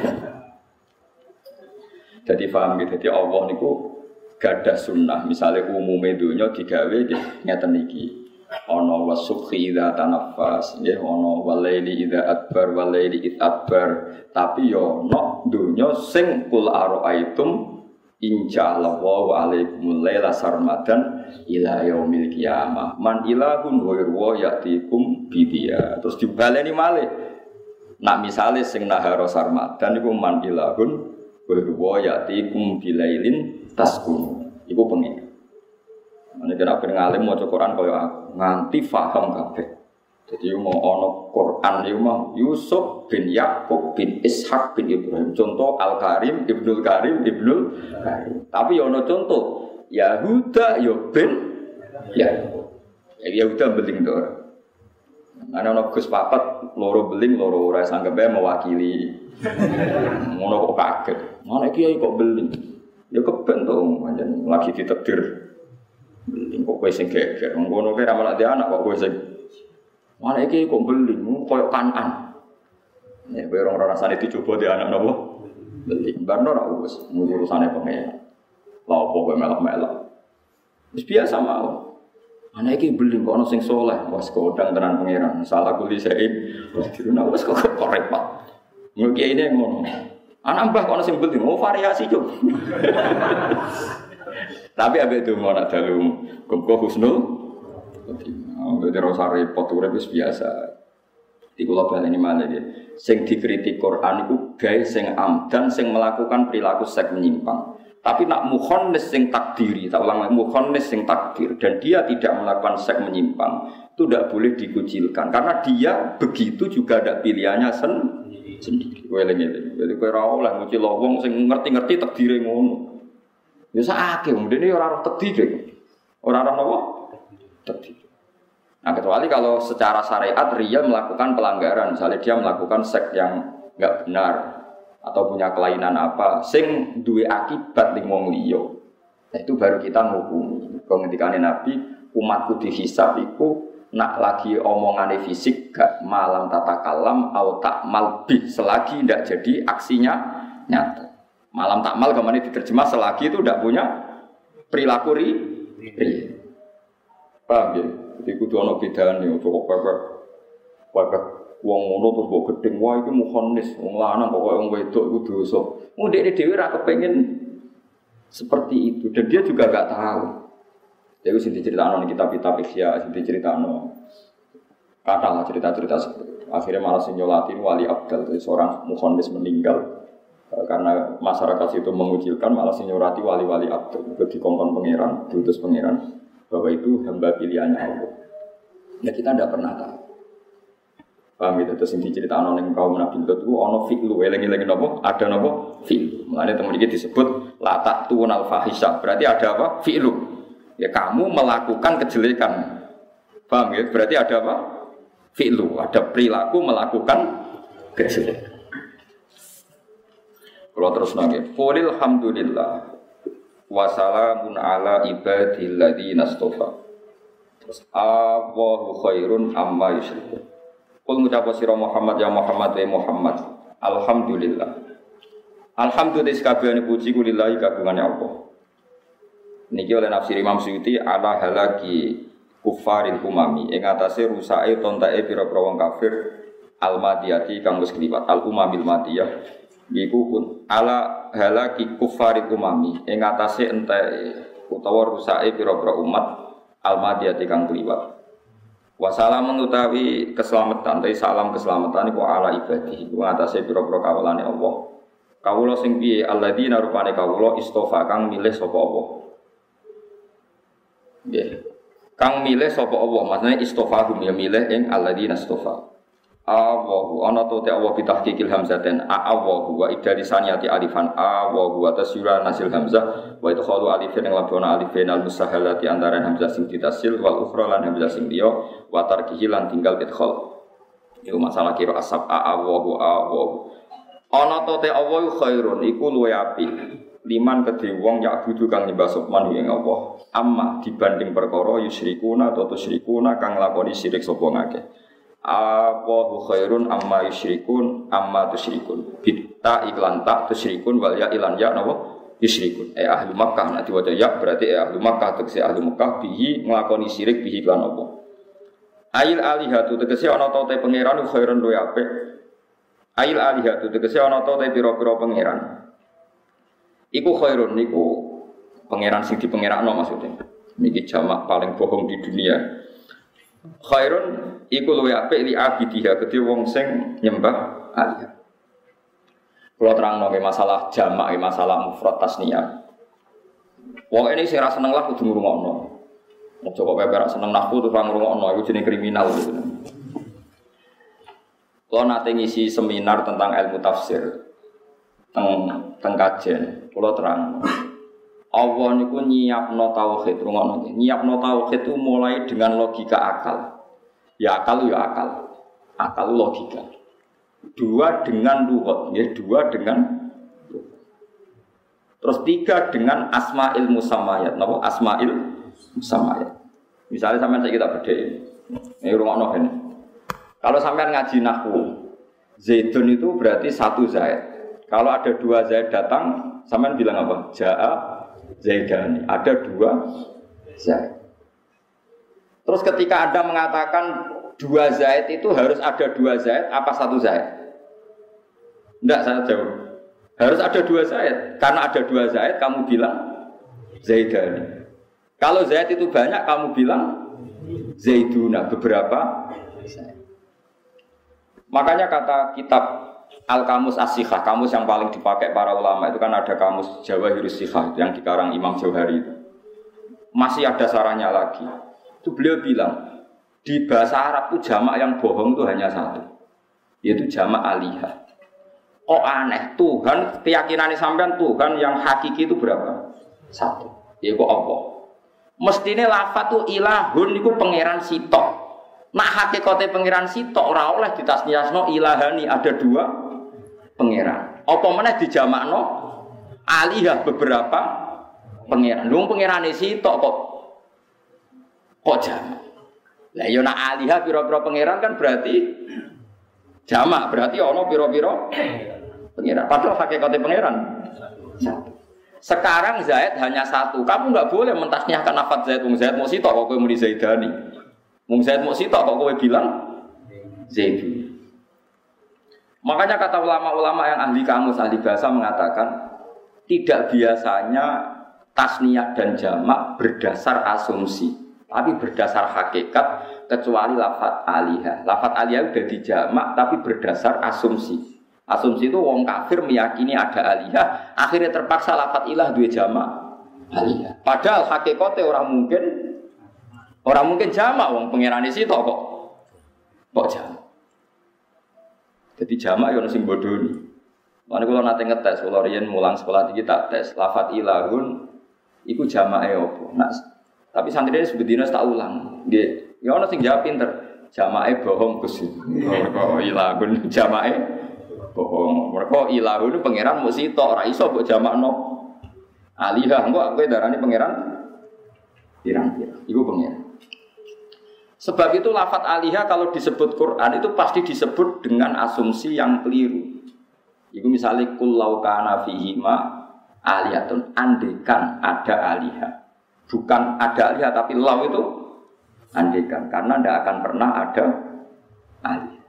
[SPEAKER 1] Jadi paham gitu. Jadi Allah niku gadah sunnah. Misalnya umumnya dunia digawe ngeten iki. Ono wasukhi idza tanaffas nggih ono walaili idza adbar walaili id adbar tapi yo ono dunya sing kul araaitum inja'allahu alaikumul laila sarmadan ila yaumil qiyamah man ilahun ghairu yatikum bidia terus dibaleni malih nak misale sing nahara sarmadan iku man ilahun ghairu yatikum bilailin taskun iku pengen. Ane kena ben ngalim maca Quran kaya aku nganti paham kabeh. Jadi mau ana Quran iki mah Yusuf bin Yakub bin Ishak bin Ibrahim. Contoh Al-Karim, Ibnul Karim, Ibnul Karim. Tapi ya ana contoh Yahuda ya bin ya. Yahuda beling to. Ana ana Gus papat loro beling loro ora sanggepe mewakili. Ngono kok kaget. Mana kiai kok beling? Ya keben to pancen lagi ditakdir. Beling kok kowe sing geger. Ngono kowe ra malah di anak kok kowe sing. Mana iki kok beling koyo kanan. Ya kowe ora rasane dicoba di anak napa? Beling. Barno ra wis urusane pengen. Lah opo kowe melok-melok. Wis biasa mau. Ana iki beling kok ana sing saleh. Wes kodang tenan pangeran. Salah kuli sae. Wes diruna wis kok kok repot. Ngono ini ngono. Anak mbah kok ana sing beling. Oh variasi cuk. Tapi ambek itu mau nak dalu kumko husnul, jadi rasa repot urip wis biasa. Di kula baleni malih nggih. Sing dikritik Quran iku gawe sing amdan sing melakukan perilaku seks menyimpang. Tapi nak mukhonnis sing takdiri, tak ulang lagi mukhonnis sing takdir dan dia tidak melakukan seks menyimpang itu tidak boleh dikucilkan karena dia begitu juga ada pilihannya sendiri. Sendiri. Kowe eling-eling. Jadi kowe ora oleh ngucil wong sing ngerti-ngerti takdire ngono. Ya sakake wong dene ora roh takdir. Ora roh napa? Takdir. Nah, kecuali kalau secara syariat dia melakukan pelanggaran, misalnya dia melakukan seks yang enggak benar atau punya kelainan apa, sing duwe akibat ning wong liya. Nah, itu baru kita ngukumi. Kok ngendikane Nabi, umatku dihisab iku
[SPEAKER 2] nak lagi omongane fisik gak malam tata kalam au takmal bih selagi tidak jadi aksinya nyata. Malam takmal kemana diterjemah selagi itu tidak punya perilaku ri. Paham ya? Jadi kudu ana bedane ojo kok pepek. Pepek wong ngono terus mbok gedeng wah iki mukhannis, wong lanang kok wong wedok iku dosa. Wong dekne dhewe ra kepengin seperti itu dan dia juga enggak tahu. Jadi sing diceritakno ning kitab-kitab Ihya, sing diceritakno katalah cerita-cerita seperti itu. Akhirnya malah sing nyolati wali abdal, jadi seorang mukhannis meninggal karena masyarakat itu mengucilkan, malah sing nyolati wali-wali abdal, itu dikongkon pangeran, diutus pangeran bahwa itu hamba pilihannya Allah. Ya kita tidak pernah tahu. Paham gitu, terus yang diceritakan oleh kaum Nabi Lut itu ada fi'lu, eling-eling apa? Ada apa? Fi'lu. Makanya teman ini disebut latak tu'unal fahisha, berarti ada apa? Fi'lu. Ya kamu melakukan kejelekan. Paham ya? Berarti ada apa? Fi'lu, ada perilaku melakukan kejelekan. Kalau terus nangis, qulil hamdulillah wa salamun ala ibadil ladzina istafa. Terus Allahu khairun amma yusyrikun. Qul ngucap sira Muhammad ya Muhammad wa Muhammad. Alhamdulillah. Alhamdulillah sakabehane puji kulillahi kagungane Allah. Niki oleh nafsir Imam Suyuti ala halaki kufaril umami ing atase rusake tontake pira-pira wong kafir al-madiyati kang wis kliwat al-umamil madiyah iku pun ala halaki kufaril umami ing atase enteke utawa rusake pira-pira umat al-madiyati kang kliwat. Wassalam utawi keselamatan, tapi salam keselamatan iku ala ibadi iku atase pira-pira kawulane Allah. Kawula sing piye alladzina rupane kawula istofa kang milih sapa Allah. Yeah. Kang milih sapa Allah, maksudnya istofahum ya milih ing alladzina istofa. Allahu ana to te Allah bitahqiqil hamzaten a Allahu wa idari saniyati alifan Allahu wa tasyura nasil hamzah wa idkhalu alifin ing labona alifin al musahalati antara hamzah sing ditasil wal ukhra lan hamzah sing liya wa tarkihi lan tinggal idkhal. Iku masalah kira asab a Allahu Allahu. Ana to te Allah khairun iku luwih apik. Liman kedhe wong yak budu kang nyembah sopman ing Allah amma dibanding perkara yusyrikuna atau tusyrikuna kang lakoni syirik sapa ngakeh. Allahu khairun amma yusyrikun amma tusyrikun. Bitta iklan tak tusyrikun wal ya ilan ya napa yusyrikun. Eh ahli Makkah nek diwaca ya berarti eh ahli Makkah tegese ahli Makkah bihi nglakoni syirik bihi lan apa. Ail alihatu tegese ana ta te pangeran khairun luwih apik. Ail alihatu tegese ana ta te pira-pira pangeran. Iku khairun niku pangeran sing dipengerakno maksudnya. Niki jamak paling bohong di dunia. Khairun iku luwih apik li abidiha kedhe wong sing nyembah alih. Kula terangno masalah jamak, masalah mufrad tasniyah. Wong ini sing ra seneng lah kudu ngrungokno. Aja kok pepe seneng nahwu terus ora ngrungokno iku jenenge kriminal gitu. Kula nate ngisi seminar tentang ilmu tafsir. Teng teng kajen kula terang. Allah niku nyiapno tauhid, rungokno nggih. Nyiapno tauhid itu mulai dengan logika akal. Ya akal ya akal. Akal logika. Dua dengan lughat, ya dua dengan terus tiga dengan asmaul musammayat. Napa asmaul musammayat? Misalnya sampean saya kita bedheki. Ini rungokno ben. Kalau sampean ngaji nahwu, Zaidun itu berarti satu Zaid. Kalau ada dua Zaid datang, sampean bilang apa? Ja'a Zaidani. Ada dua Zaid. Terus ketika Anda mengatakan dua Zaid itu harus ada dua Zaid, apa satu Zaid? Tidak, saya jawab. Harus ada dua Zaid. Karena ada dua Zaid, kamu bilang Zaidani. Kalau Zaid itu banyak, kamu bilang Zaiduna. Beberapa Zaid. Makanya kata kitab Al-Kamus As-Sikhah, kamus yang paling dipakai para ulama itu kan ada kamus Jawahirus Sikhah yang dikarang Imam Jauhari itu. Masih ada sarannya lagi. Itu beliau bilang, di bahasa Arab itu jamak yang bohong itu hanya satu, yaitu jamak alihah. Oh aneh, Tuhan, keyakinan sampean Tuhan yang hakiki itu berapa? Satu, yaitu Allah. Mestinya lafaz itu ilahun itu pangeran sitok. Nak hakikate pangeran sitok ora oleh ditasniyasno ilahani, ada dua pangeran. Apa meneh dijamakno alihah beberapa pangeran. Lung pangerane sitok kok kok jamak. Lah yo nak alihah pira-pira pangeran kan berarti jamak, berarti ana pira-pira pangeran. Padahal hakikate pangeran satu. Sekarang Zaid hanya satu. Kamu enggak boleh mentasniahkan lafaz Zaid. Wong Zaid mau sitok kok kowe muni Zaidani. Wong Zaid mau sitok kok kowe bilang Zaid. Makanya kata ulama-ulama yang ahli kamus, ahli bahasa mengatakan tidak biasanya tasniyah dan jamak berdasar asumsi, tapi berdasar hakikat kecuali lafaz alihah. Lafaz alihah sudah dijamak tapi berdasar asumsi. Asumsi itu wong kafir meyakini ada alihah, akhirnya terpaksa lafaz ilah dua jamak alihah. Padahal hakikatnya orang mungkin orang mungkin jamak wong pangerane sitok kok. Kok jamak? Jadi jamak yo sing bodoni. Mane kula nate ngetes, kula riyen mulang sekolah iki tak tes lafaz ilahun iku jamake opo. Nah, tapi santrine sebedina tak ulang. Nggih, ya ana sing jawab pinter. Jamake bohong Gus. Kok ilahun jamake bohong. Mergo ilahun pangeran mung sitok, ora iso mbok jamakno. Alihah engko kowe darani pangeran pirang-pirang. Iku pangeran. Sebab itu lafaz alihah kalau disebut Quran itu pasti disebut dengan asumsi yang keliru. Itu misalnya kullau kana fihima aliyatun, andekan ada alihah. Bukan ada alihah tapi lau itu andekan, karena tidak akan pernah ada alihah.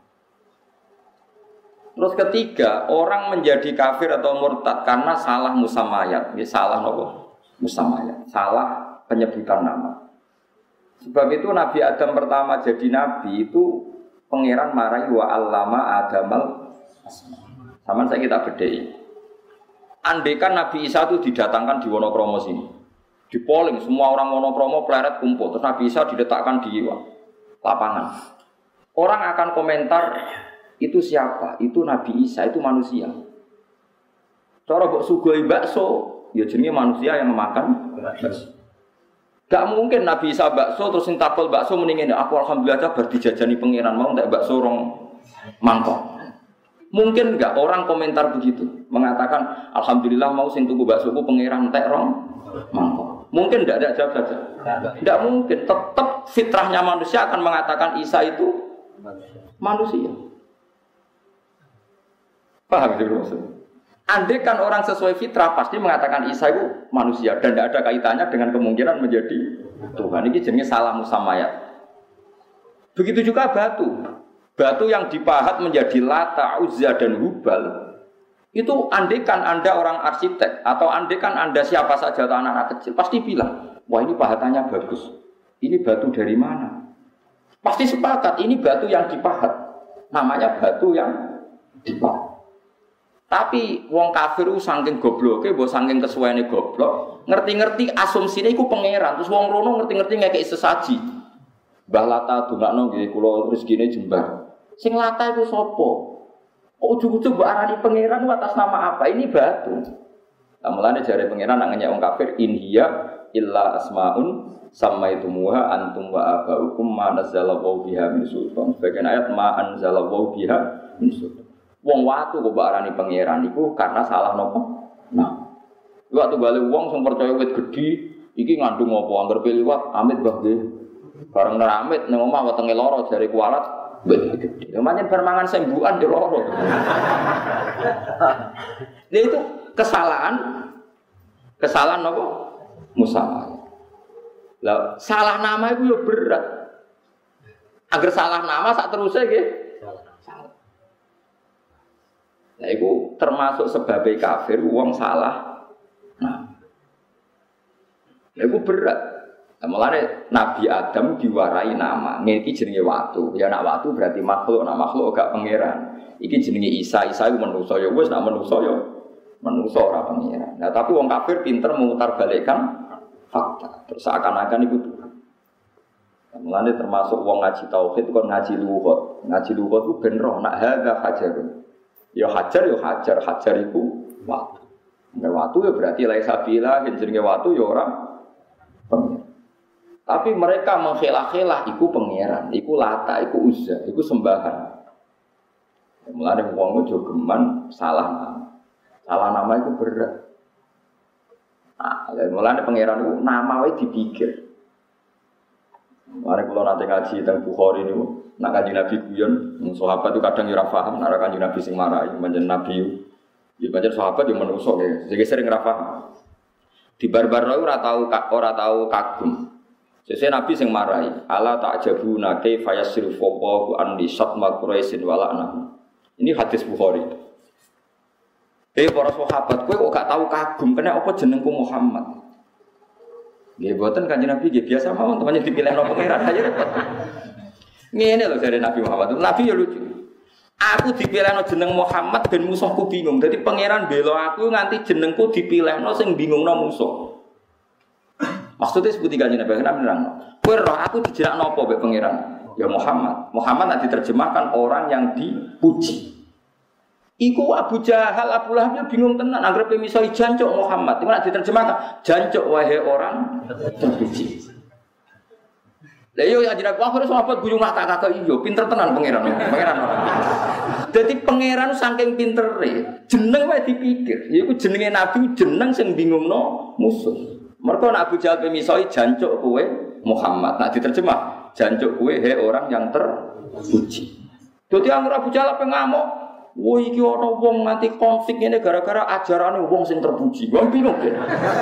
[SPEAKER 2] Terus ketiga, orang menjadi kafir atau murtad karena salah musamayat. Ini salah apa? Musamayat, salah penyebutan nama. Sebab itu Nabi Adam pertama jadi Nabi itu pangeran marahi wa allama Adamal sama saya kita bedai. Andaikan Nabi Isa itu didatangkan di Wonokromo sini, di polling semua orang Wonokromo pleret kumpul, terus Nabi Isa diletakkan di lapangan. Orang akan komentar itu siapa? Itu Nabi Isa, itu manusia. Cara mbok sugoi bakso, ya jenenge manusia yang memakan bakso. Gak mungkin Nabi Isa bakso terus ntakol bakso mendingin aku alhamdulillah bar dijajani pangeran mau tak bakso rong mangkok. Mungkin enggak orang komentar begitu, mengatakan alhamdulillah mau sing tuku baksoku pangeran entek rong mangkok. Mungkin enggak ada jawab saja. Enggak mungkin, tetap fitrahnya manusia akan mengatakan Isa itu manusia. Paham itu maksudnya? Andai kan orang sesuai fitrah pasti mengatakan Isa itu manusia dan tidak ada kaitannya dengan kemungkinan menjadi Tuhan. Ini jenis salah musamayat. Begitu juga batu. Batu yang dipahat menjadi Lata, Uzza dan Hubal itu andai kan Anda orang arsitek atau andai kan Anda siapa saja atau anak-anak kecil pasti bilang, wah ini pahatannya bagus. Ini batu dari mana? Pasti sepakat ini batu yang dipahat. Namanya batu yang dipahat. Tapi wong kafir ku saking gobloke, mbok saking kesuwene goblok, ngerti-ngerti asumsine iku pangeran. Terus wong rono ngerti-ngerti ngekeki sesaji. Mbah Lata dongakno nggih kula rezekine jembar. Sing Lata iku sapa? Kok ujug-ujug mbok arani pangeran atas nama apa? Ini batu. Lah mulane jare pangeran nak ngenyek wong kafir in hiya illa asmaun samaitumuha antum wa abaukum ma nazzalallahu biha min sultan. Sebagian ayat ma anzalallahu biha min sultan. Wong watu kok mbok arani pangeran iku karena salah nopo? Nah. Waktu bali wong sing percaya wit gedhi iki ngandung apa angger liwat amit mbah nggih. Bareng neramit ning omah wetenge lara jare kualat wit gedhi. Ya pancen bar mangan sembukan yo lara. Nah itu kesalahan kesalahan nopo? Musalah. Lah salah nama itu yo berat. Agar salah nama sak terusé nggih. Nah, itu termasuk sebagai kafir, uang salah. Nah, itu berat. Nah, mulanya Nabi Adam diwarai nama. Ini jenenge watu. Ya nak watu berarti makhluk. Nak makhluk gak pangeran. Ini jenenge Isa. Isa itu manusia. Ya wes nak manusia ya manusia ora pangeran. Nah, tapi uang kafir pinter memutar balikkan fakta. Terus seakan-akan itu Tuhan. Nah, mulanya termasuk uang ngaji tauhid kon ngaji luhut. Ngaji luhut itu benroh. Nak hadza hajarun. Ya hajar, ya hajar, hajar itu watu. Nah, watu ya berarti lain sabila, jenenge watu ya orang pengiran. Tapi mereka menghelah-helah, iku pengiran, iku Lata, iku Uzza, iku sembahan. Mulane wong ojo geman salah nama, salah nama itu berat. Nah, mulane pengiran itu nama wae dipikir. Mari kula nate ngaji teng Bukhari niku, nak Kanjeng Nabi guyon, sahabat itu kadang ora paham, nek Kanjeng Nabi sing marahi, pancen Nabi. Ya pancen sahabat yo menungso nggih, sing sering ora paham. Di barbar ora tau ora tau kagum. Sesuk Nabi sing marahi, ala ta'jabuna kaifa yasrifu Allahu an li satma Quraisyin wa la'nahu. Ini hadis Bukhari. Eh para sahabat, kowe kok gak tau kagum, kena apa jenengku Muhammad? Nggih boten Kanjeng Nabi nggih biasa mawon temannya dipilihno pangeran aja repot. Ngene lho jare Nabi Muhammad. Nabi ya lucu. Aku dipilihno jeneng Muhammad ben musuhku bingung. Dadi pangeran bela aku nganti jenengku dipilihno sing bingungno musuh. Maksudnya seperti Kanjeng Nabi kenapa nerangno? Kowe roh aku dijerakno apa mbek pangeran? Ya Muhammad. Muhammad nanti diterjemahkan orang yang dipuji. Iku Abu Jahal, Abu Lahab bingung tenan anggere miso jancuk Muhammad. Iku nek diterjemahkan jancuk wahai orang terpuji. Lah yo ya jenenge akhire sahabat guyung mata kakak iyo pinter tenan pangeran. Pangeran ora. Dadi pangeran saking pintere, jeneng wae dipikir. Iku jenenge nabi jeneng sing bingungno musuh. Mergo nek Abu Jahal miso jancuk kowe Muhammad. Nek diterjemah jancuk kowe he orang yang terpuji. Dadi anggere Abu Jahal pe ngamuk. Wah iki ana wong nganti konflik ngene gara-gara ajarane wong sing terpuji. Wong bingung kan.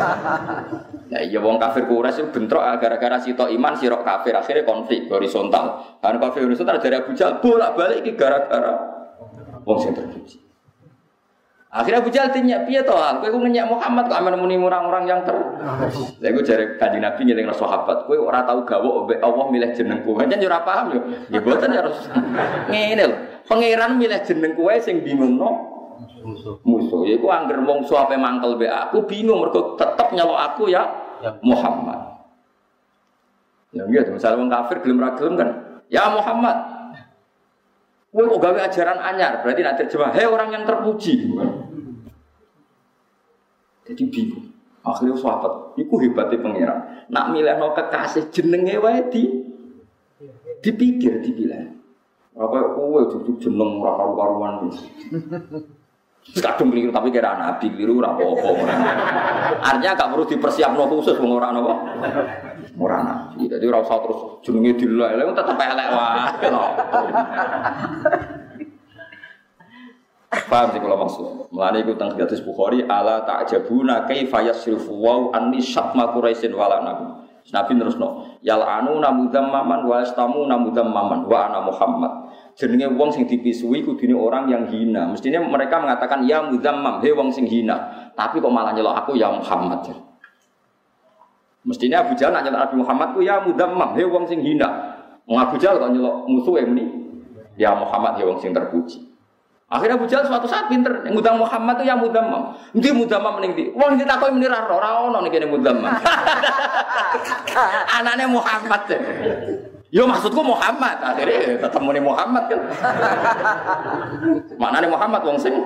[SPEAKER 2] Nah iya wong kafir Quraisy bentrok gara-gara sitok iman sirok kafir akhirnya konflik horizontal. Kan kafir horizontal dari Abu Jahal bolak-balik iki gara-gara wong sing terpuji. Akhirnya Abu Jahal tanya, piye to? Kowe ku ngenyak Muhammad kok amen muni orang-orang yang ter. Lha iku jare Kanjeng Nabi ngelingno sahabat, kowe ora tau gawok mbek Allah milih jenengku. Pancen yo ora paham yo. Ya boten harus ngene lho. Pangeran milih jeneng kowe sing bingungno musuh. Musuh. Iku angger wong suape mangkel mbek aku bingung mergo tetep nyelok aku ya Muhammad. Ya nggih, misal wong kafir gelem ra gelem kan. Ya Muhammad. Kowe kok gawe ajaran anyar, berarti nek terjemah, "Hei orang yang terpuji." Jadi bingung. Akhirnya sahabat, iku hebatnya pangeran. Nak milihno kekasih jenenge wae di dipikir dipilih. Apa kowe cucuk jeneng ora karu-karuan. Kadung keliru tapi kira nabi keliru ora apa-apa. Artinya gak perlu dipersiapno khusus wong ora napa. Ora nabi. Dadi ora usah terus jenenge dilek-lek tetep elek wae. Paham sih kalau maksud. Mulane iku teng hadis Bukhari ala ta'jabuna kaifa yasrifu wa anni syatma Quraisyin walanakum. Nabi terusno, yal'anu namudammaman wa yastamu namudammaman wa ana Muhammad. Jenenge wong sing dipisui kudune orang yang hina. Mestinya mereka mengatakan ya mudammam, he wong sing hina. Tapi kok malah nyelok aku ya Muhammad. Mestinya Abu Jahal nyelok Nabi Muhammad ku ya mudammam, he wong sing hina. Wong Abu Jahal kok nyelok musuhe muni ya Muhammad, he wong sing terpuji. Akhirnya Abu Jahal suatu saat pinter, ngundang Muhammad itu ya mudammam. Ndi mudammam ning ndi? Wong ditakoki muni ra ora ono ning kene mudammam. Anane Muhammad. Yo maksudku Muhammad. Akhirnya tetep muni Muhammad kan. Maknane Muhammad wong sing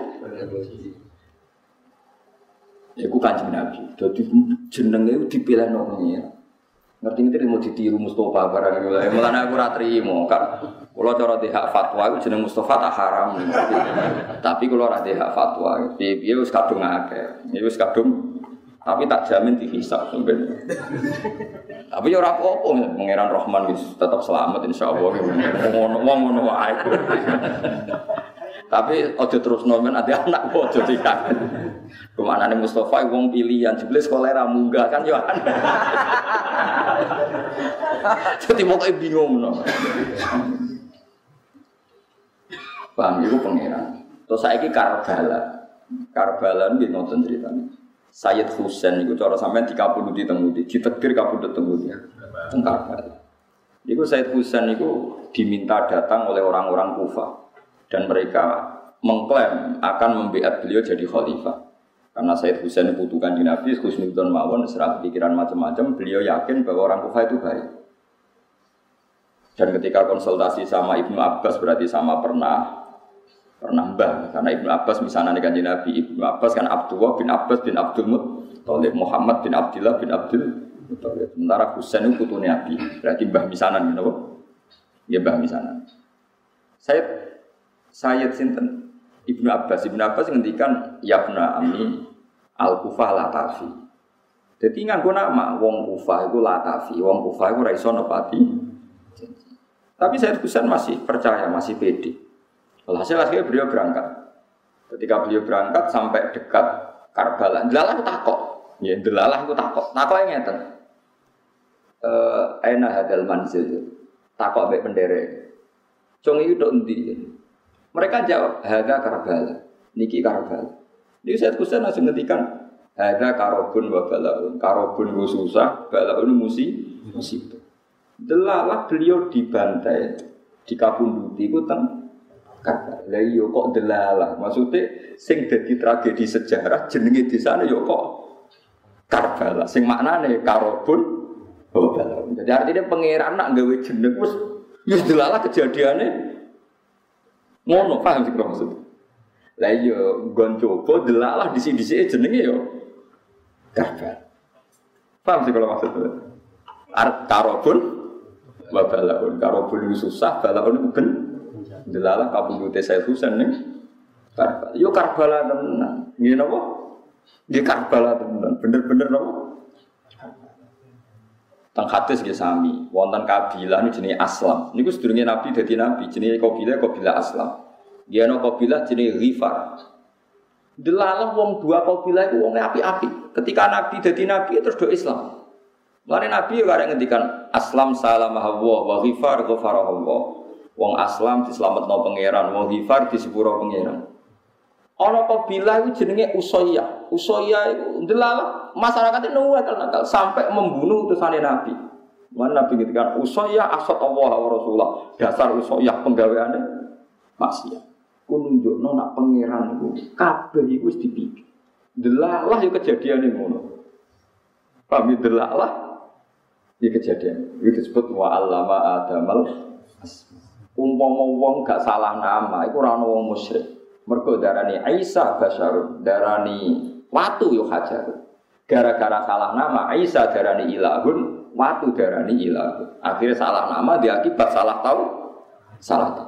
[SPEAKER 2] iku Kanjeng Nabi. Dadi jenenge dipilihno pengira. Ngerti-ngerti mau ditiru Mustafa barang iku. Mulane aku ora trimo kan. Kula cara di hak fatwa iku jeneng Mustafa tak haram. Tapi kula ora di hak fatwa. Piye wis kadung akeh. Ya wis kadung tapi tak jamin dihisab sampeyan. Tapi ya ora apa-apa, Pangeran Rahman wis tetep selamat insyaallah. Ngono wong ngono wae. Tapi aja terus nomen ada anak kok aja tidak. Kemanane Mustafa wong pilihan jebule sekolah ra munggah kan yo aneh. Jadi pokoke bingung no. Bang iku pangeran. Terus saiki Karbala. Karbala nggih ngoten critane. Sayyid Husain iku cara sampean dikapundhuti teng ngendi? Ditegir kapundhut teng ngendi? Teng Karbala. Iku Sayyid Husain iku diminta datang oleh orang-orang Kufah dan mereka mengklaim akan membiat beliau jadi khalifah. Karena Sayyid Husain putukan di Nabi, khusnudon mawon, serah pikiran macam-macam, beliau yakin bahwa orang Kufah itu baik. Dan ketika konsultasi sama Ibnu Abbas berarti sama pernah pernah mbah, karena Ibnu Abbas misalnya dengan Nabi, Ibnu Abbas kan Abdullah bin Abbas bin Abdul Muttalib, Muhammad bin Abdullah bin Abdul Muttalib. Sementara Husain itu putunya Nabi, berarti mbah misanan, gitu. Ya mbah misanan. Sayyid Sayyid Sinten Ibnu Abbas, Ibnu Abbas ngendikan yabna ami al-Kufah latafi. Jadi nganggo nama wong Kufah iku latafi, wong Kufah iku ora iso nepati Tapi Sayyid Husain masih percaya, masih pede. Hasil akhirnya beliau berangkat. Ketika beliau berangkat sampai dekat Karbala, delalah takok. Ya, delalah itu takok. Takok yang ngeten. Eh, aina hadal manzil. Takok ambek penderek. Cung iki tok endi? Mereka jawab, "Hadza Karbala." Niki Karbala. Dia Sayyid Husain langsung ngendikan, "Hadza karobun wa balaun." Karobun ku susah, balaun musi musibah. Delalah beliau dibantai, dikabunduti ku teng Karbala. Lah iya kok delalah. Maksudnya sing dadi tragedi sejarah jenenge desane yo kok Karbala. Sing maknane karobun wa balaun. Jadi artinya pangeran nak gawe jeneng wis wis delalah kejadiane ngono, paham sih kok maksud. Lah iya nggon coba delalah disi-disike jenenge yo Karbala. Paham sih kalau maksudnya. Art karobun wa balaun, karobun susah, balaun ben delalah kabundute Sayyid Husain ning Karbala. Yo Karbala tenan. Nggih napa? Nggih Karbala tenan. Bener-bener napa? Teng hadis nggih sami, wonten kabilah niku jenenge Aslam. Niku sedurunge Nabi dadi nabi, jenenge kabilah kabilah Aslam. Dia ana kabilah jenenge Ghifar. Delalah wong dua kabilah iku wonge apik-apik. Ketika Nabi dadi nabi terus do Islam. Mulane Nabi yo arek ngendikan Aslam salamah Allah wa Ghifar ghafara Allah. Wong Aslam dislametno pangeran, wong Ghifar disepuro pangeran. Ana kabilah iku jenenge Usayyah. Usayyah iku delalah masyarakate nakal-nakal sampai membunuh utusane Nabi. Mulane Nabi ngendikan Usayyah asat Allah wa Rasulullah. Dasar Usayyah penggaweane maksiat. Ku nunjukno nak pangeran iku kabeh iku wis dipikir. Delalah yo kejadiane ngono. Pamit delalah iki kejadian. Iki disebut wa allama adamal asma. Umpama wong gak salah nama iku ora ana wong musyrik. Mergo darani Isa basyarun, darani watu yo hajar. Gara-gara salah nama Isa darani ilahun, watu darani ilahun. Akhirnya salah nama diakibat salah tahu, salah tahu.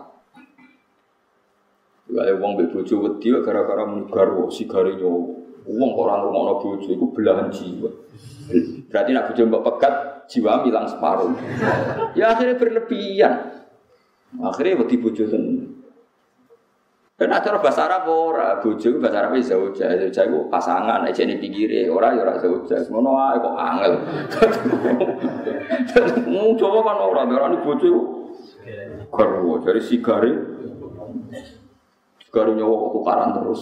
[SPEAKER 2] Kalau wong mbek bojo wedi gara-gara muni garwa sigare nyowo. Wong kok ora ngono bojo iku belahan jiwa. Berarti nek bojo mbok pegat jiwa hilang separuh. Ya akhirnya berlebihan. Akhirnya wedi bojo tenan. Dan acara bahasa Arab ora, bojo bahasa Arab iso zauja, zauja iku pasangan aja ning pinggire, ora ya ora zauja. Ngono ae kok angel. Mung coba kan ora darani bojo iku garwa, dari sigare. Sigare nyawa tukaran terus.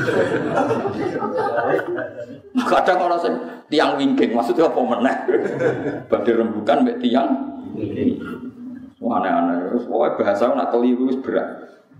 [SPEAKER 2] Kadang ora sing tiang wingking, maksudnya apa meneh? Badhe rembukan mek tiang wingking. Aneh-aneh, terus pokoke bahasa nak keliru wis berat.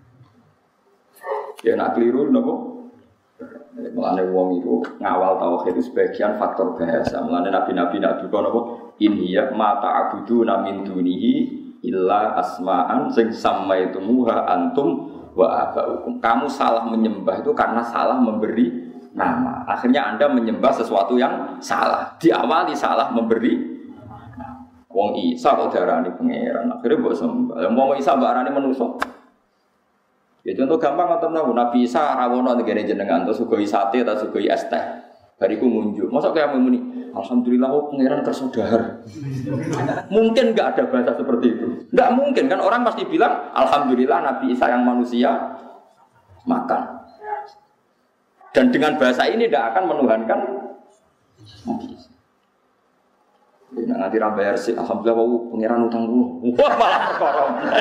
[SPEAKER 2] Ya nak keliru napa? Mulane wong itu ngawal tauhid itu sebagian faktor bahasa. Mulane nabi-nabi nak duka napa? Inhiya ma ta'buduna min dunihi illa asma'an sing samaitumuha antum wa abaukum. Kamu salah menyembah itu karena salah memberi nama. Akhirnya Anda menyembah sesuatu yang salah. Diawali salah memberi wong Isa kok darani pangeran. Akhire mbok sembah. Lah wong Isa mbok arani manusa. Ya contoh gampang ngoten niku. Nabi Isa rawono ngene jenengan terus sugoi sate ta sugoi es teh. Bariku ngunjuk. Mosok kaya muni, alhamdulillah oh pangeran kersa dahar. Mungkin enggak ada bahasa seperti itu. Enggak mungkin kan orang pasti bilang alhamdulillah Nabi Isa yang manusia makan. Dan dengan bahasa ini tidak akan menuhankan Nabi Isa. Nah, nanti rambayar sih, alhamdulillah wau pangeran utangku. Wah malah perkara.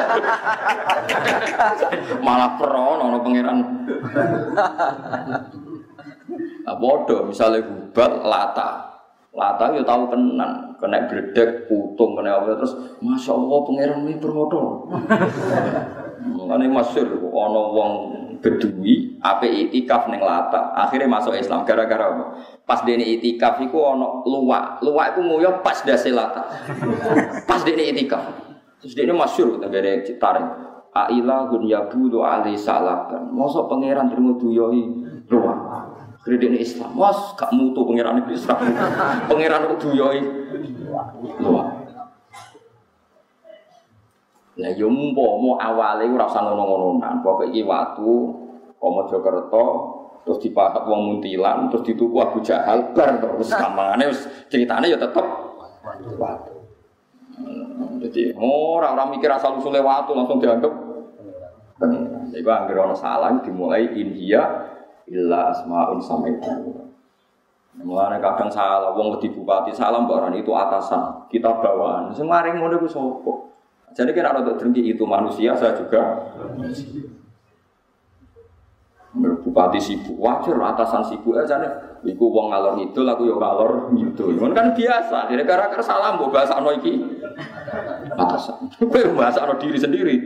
[SPEAKER 2] Malah peron ono pangeran. Nah, bodoh misalnya Hubal Lata. Lata yo tahu tenan, kena bledek putung kena apa terus Masya Allah pangeran iki permodo. Mane masyhur ana wong Bedui ape itikaf ning Lata. Akhirnya masuk Islam gara-gara apa? Pas dene itikaf iku ana luwak. Luwak iku nguyuh pas dase Lata. Pas dene itikaf. Terus dene masyhur tenggene citaring. Ailahun yabudu alaihi salaban. Mosok pangeran trimo duyohi luwak. Kredene Islam. Mas gak mutu pangeran Islam. Pangeran kok duyohi luwak. Lah yo umpama awale ora usah ngono-ngononan, pokoke iki watu Mojokerto terus dipatok wong Muntilan terus dituku Abu Jahal bar terus gampangane wis critane ya tetep watu. Jadi orang-orang mikir asal usule watu langsung dianggap pengiran. Jadi anggere ana salah dimulai inhiya illa asmaun samaitu. Mulane kadang salah wong wedi bupati salah mbok itu atasan, kita bawahan. Sing maring ngono iku sapa? Jadi kan ada drengki itu manusia, saya juga bupati sibuk, wajar atasan sibuk aja nih. Iku wong ngalor ngidul, aku yo ngalor ngidul. Itu kan biasa. Jadi gara-gara salah mbok bahasano iki atasan. Kowe bahasano diri sendiri.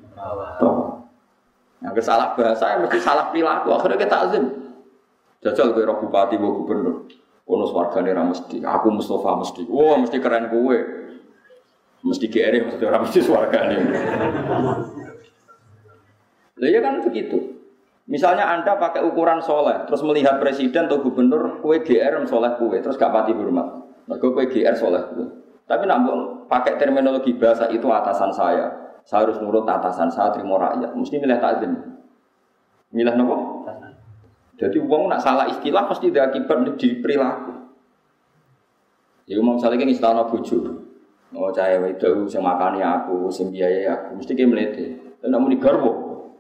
[SPEAKER 2] Yang kesalah bahasa mesti salah perilaku. Akhirnya kita azim. Jajal kowe roh bupati mbok gubernur. Ono swargane ra mesti. Aku Mustafa mesti. Wah, mesti keren kowe. Mesti G R mesti orang mesti swargane. Lah ya kan begitu. Misalnya Anda pakai ukuran soleh, terus melihat presiden atau gubernur, kue G R soleh kue, terus gak pati hormat. Mergo kue G R soleh kue. Tapi nak pakai terminologi bahasa itu atasan saya. Saya harus nurut atasan saya, terima rakyat. Mesti milih takzim. Milih apa? Jadi uang nak salah istilah pasti ada akibat di perilaku. Ya mau misalnya kan istana bojo. Oh cahaya itu sing makani aku, sing biayai aku, mesti ki mlete. Lah nek muni garwo.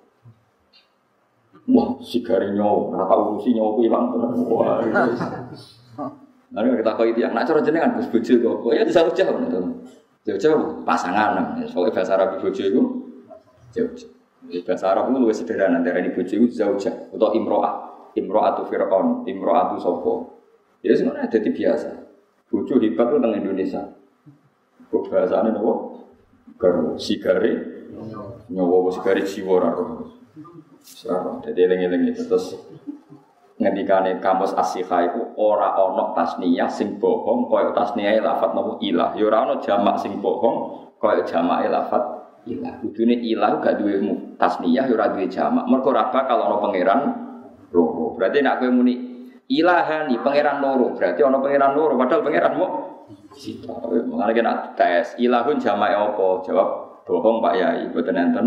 [SPEAKER 2] Wah, sigare nyawa, ora tau urusi nyawa ku ilang tenan. Wah. Lalu kita kok itu yang nak cara jenengan Gus bojo kok. Ya jauh-jauh ngono. Jauh-jauh pasangan. Soale bahasa Arab bojo iku jauh-jauh. Bahasa Arab itu luwih sederhana antara ini bojo iku jauh-jauh atau imro'ah. Imro'atu Fir'aun, imro'atu sapa. Ya sebenarnya jadi biasa. Bojo hebat itu teng Indonesia. Kok bahasane nopo? Garwo sigare nyawa sigare jiwa ora ro. Sarah dadi eling-eling terus ngendikane kamus as-sikha iku ora ana tasniyah sing bohong kaya tasniyah lafat nopo ilah. Ya ora ana jamak sing bohong kaya jamake lafat ilah. Kudune ilah gak duwe tasniyah ya ora duwe jamak. Mergo ora bakal ana pangeran loro. Berarti nek kowe muni ilahani pangeran loro, berarti ana pangeran loro padahal pangeran mok sita. Mengane kena tes ilahun jamae apa? Jawab bohong Pak Yai, mboten enten.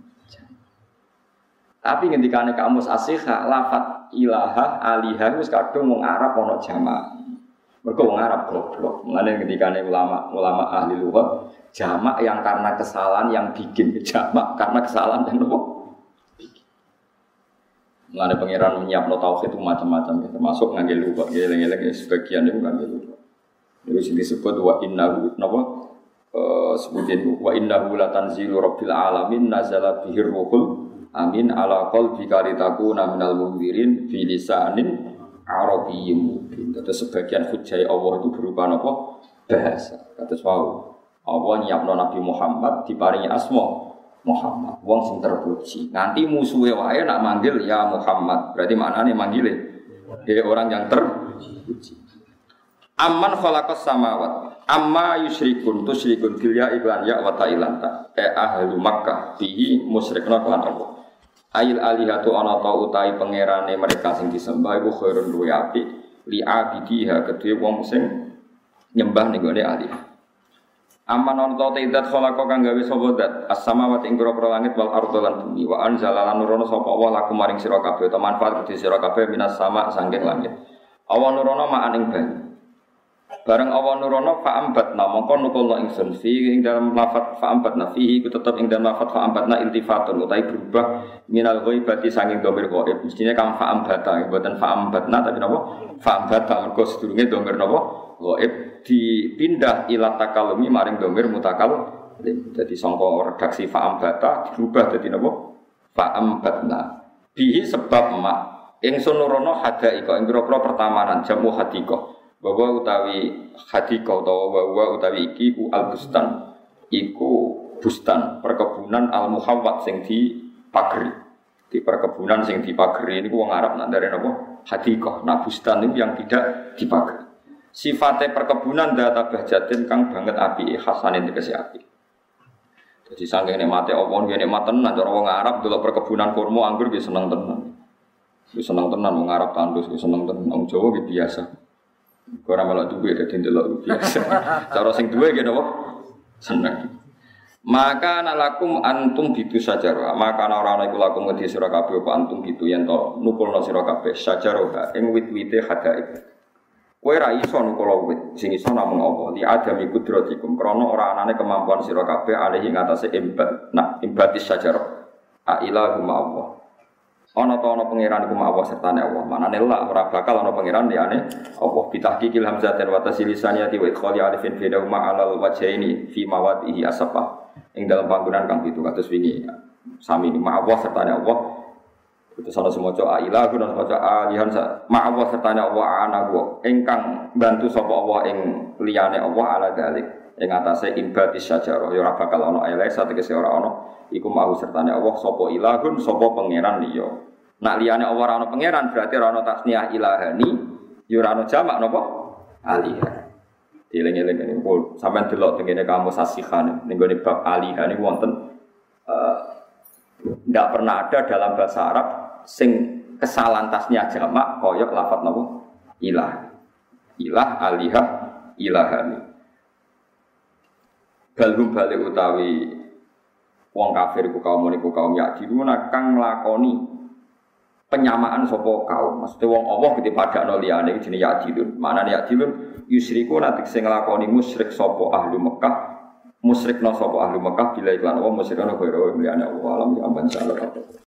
[SPEAKER 2] Tapi ngendikane kamus as-sikha lafat ilaha aliha wis kadung wong Arab ana jamak. Mergo wong Arab goblok. Mengane ngendikane ulama-ulama ahli lughat jamak yang karena kesalahan yang bikin jamak karena kesalahan yang nopo? Mengane pangeran menyiapno tauhid itu macam-macam termasuk ngangge lughat, ngeleng-eleng sebagian itu ngangge lughat. Itu disebut wa innahu napa eh sebutin wa innahu la tanzilu rabbil alamin nazala bihir ruhul amin ala qalbika litakuna minal munzirin fi lisanin arabiyyin mubin. Terus sebagian hujjah Allah itu berupa napa bahasa. Kados wau Allah nyiapno Nabi Muhammad diparingi asma Muhammad. Wong sing terpuji. Nanti musuhe wae nak manggil ya Muhammad. Berarti maknane manggile dia orang yang terpuji. Amman khalaqas samawat amma yusyrikun tusyrikun bil ya iklan ya wa ta'ilan ta e ahlu Makkah bihi musyrikna kan Allah ail alihatu ana ta utahi pangerane mereka sing disembah iku khairun luwi apik li abidiha kedue wong sing nyembah ning gone alih amman ana ta idat khalaqa kang gawe sapa zat as-samawati ing pira-pira langit wal ardh lan bumi wa anzala lan nurono sapa Allah lakum maring sira kabeh ta manfaat kedue sira kabeh minas sama saking langit awan nurono ma'an ing banyu. Bareng awan nurono fa'ambatna mongko nukulna ingsun fi ing dalam lafaz fa'ambatna fihi ku tetep ing dalam lafaz fa'ambatna iltifatun utawi berubah minal ghaibati saking dhamir ghaib mestine kang fa'ambata mboten fa'ambatna tapi napa fa'ambata mergo sedurunge dhamir napa ghaib dipindah ila takallumi maring dhamir mutakallim dadi sangka redaksi fa'ambata dirubah dadi napa fa'ambatna bihi sebab mak ingsun nurono hadaika ing pira-pira pertamanan jamu hadika bahwa utawi hadika utawa bahwa utawi iki ku al-bustan iku bustan perkebunan al-muhawwat sing dipageri di perkebunan sing dipageri niku wong Arab nak ndare napa hadika nah bustan niku yang tidak dipageri sifate perkebunan data bahjatin kang banget apike khasane tegese apik dadi saking nikmate apa ngene nikmat tenan cara wong Arab delok perkebunan kurma anggur wis seneng tenan wis seneng tenan wong Arab tandus wis seneng tenan wong Jawa ki biasa. Ora melok duwe dadi ndelok biasa. Cara sing duwe ki napa? Seneng. Maka nalakum antum bitu sajarah. Maka ora ana iku lakum ngedi sira kabeh apa antum bitu yen to nukulna sira kabeh sajarah ing wit-wite hadaib. Kowe ra iso nukula wit, sing iso namung Allah. Li adami kudratikum, krana ora anane kemampuan sira kabeh alih ing atase imbat. Nah, imbatis sajarah. A ilahu ma Allah. Ana ta ana pangeran iku ma Allah sertane Allah. Manane la ora bakal ana pangeran liyane Allah. Bitahqiqil hamzatin wa tasilisaniyati wa idkhali alifin fi dawma alal wajhaini fi mawadihi asfa. Ing dalam panggonan kang pitu kados wingi. Sami ma Allah sertane Allah. Itu salah semua coba ilah, guna semua coba alihan ma Allah sertane Allah ana gua ingkang bantu sapa Allah ing liyane Allah ala dalik ing atase imbatis sajarah ya ora bakal ana elek sategese ora ana iku mau sertane Allah sapa ilahun sapa pangeran liya nak liyane Allah ora ana pangeran berarti ora ana tasniyah ilahani ya ora ana jamak napa alihah dieling-eling niku pun sampean delok tengene kamu sasihan ning gone bab alihah niku wonten ndak pernah ada dalam bahasa Arab sing kesalahan tasnya jamak koyok lafadz napa ilah ilah alihah ilahani balhum balik utawi wong kafir ku kaum niku kaum yakdiruna kang nglakoni penyamaan sapa kaum maksudnya wong Allah gede padakno liyane jenenge yakdirun manane yakdirun yusriku nanti sing nglakoni musyrik sapa ahli Mekah musyrikna sapa ahli Mekah bila iklan wa musyrikna kaya liyane Allah alam ya aman salah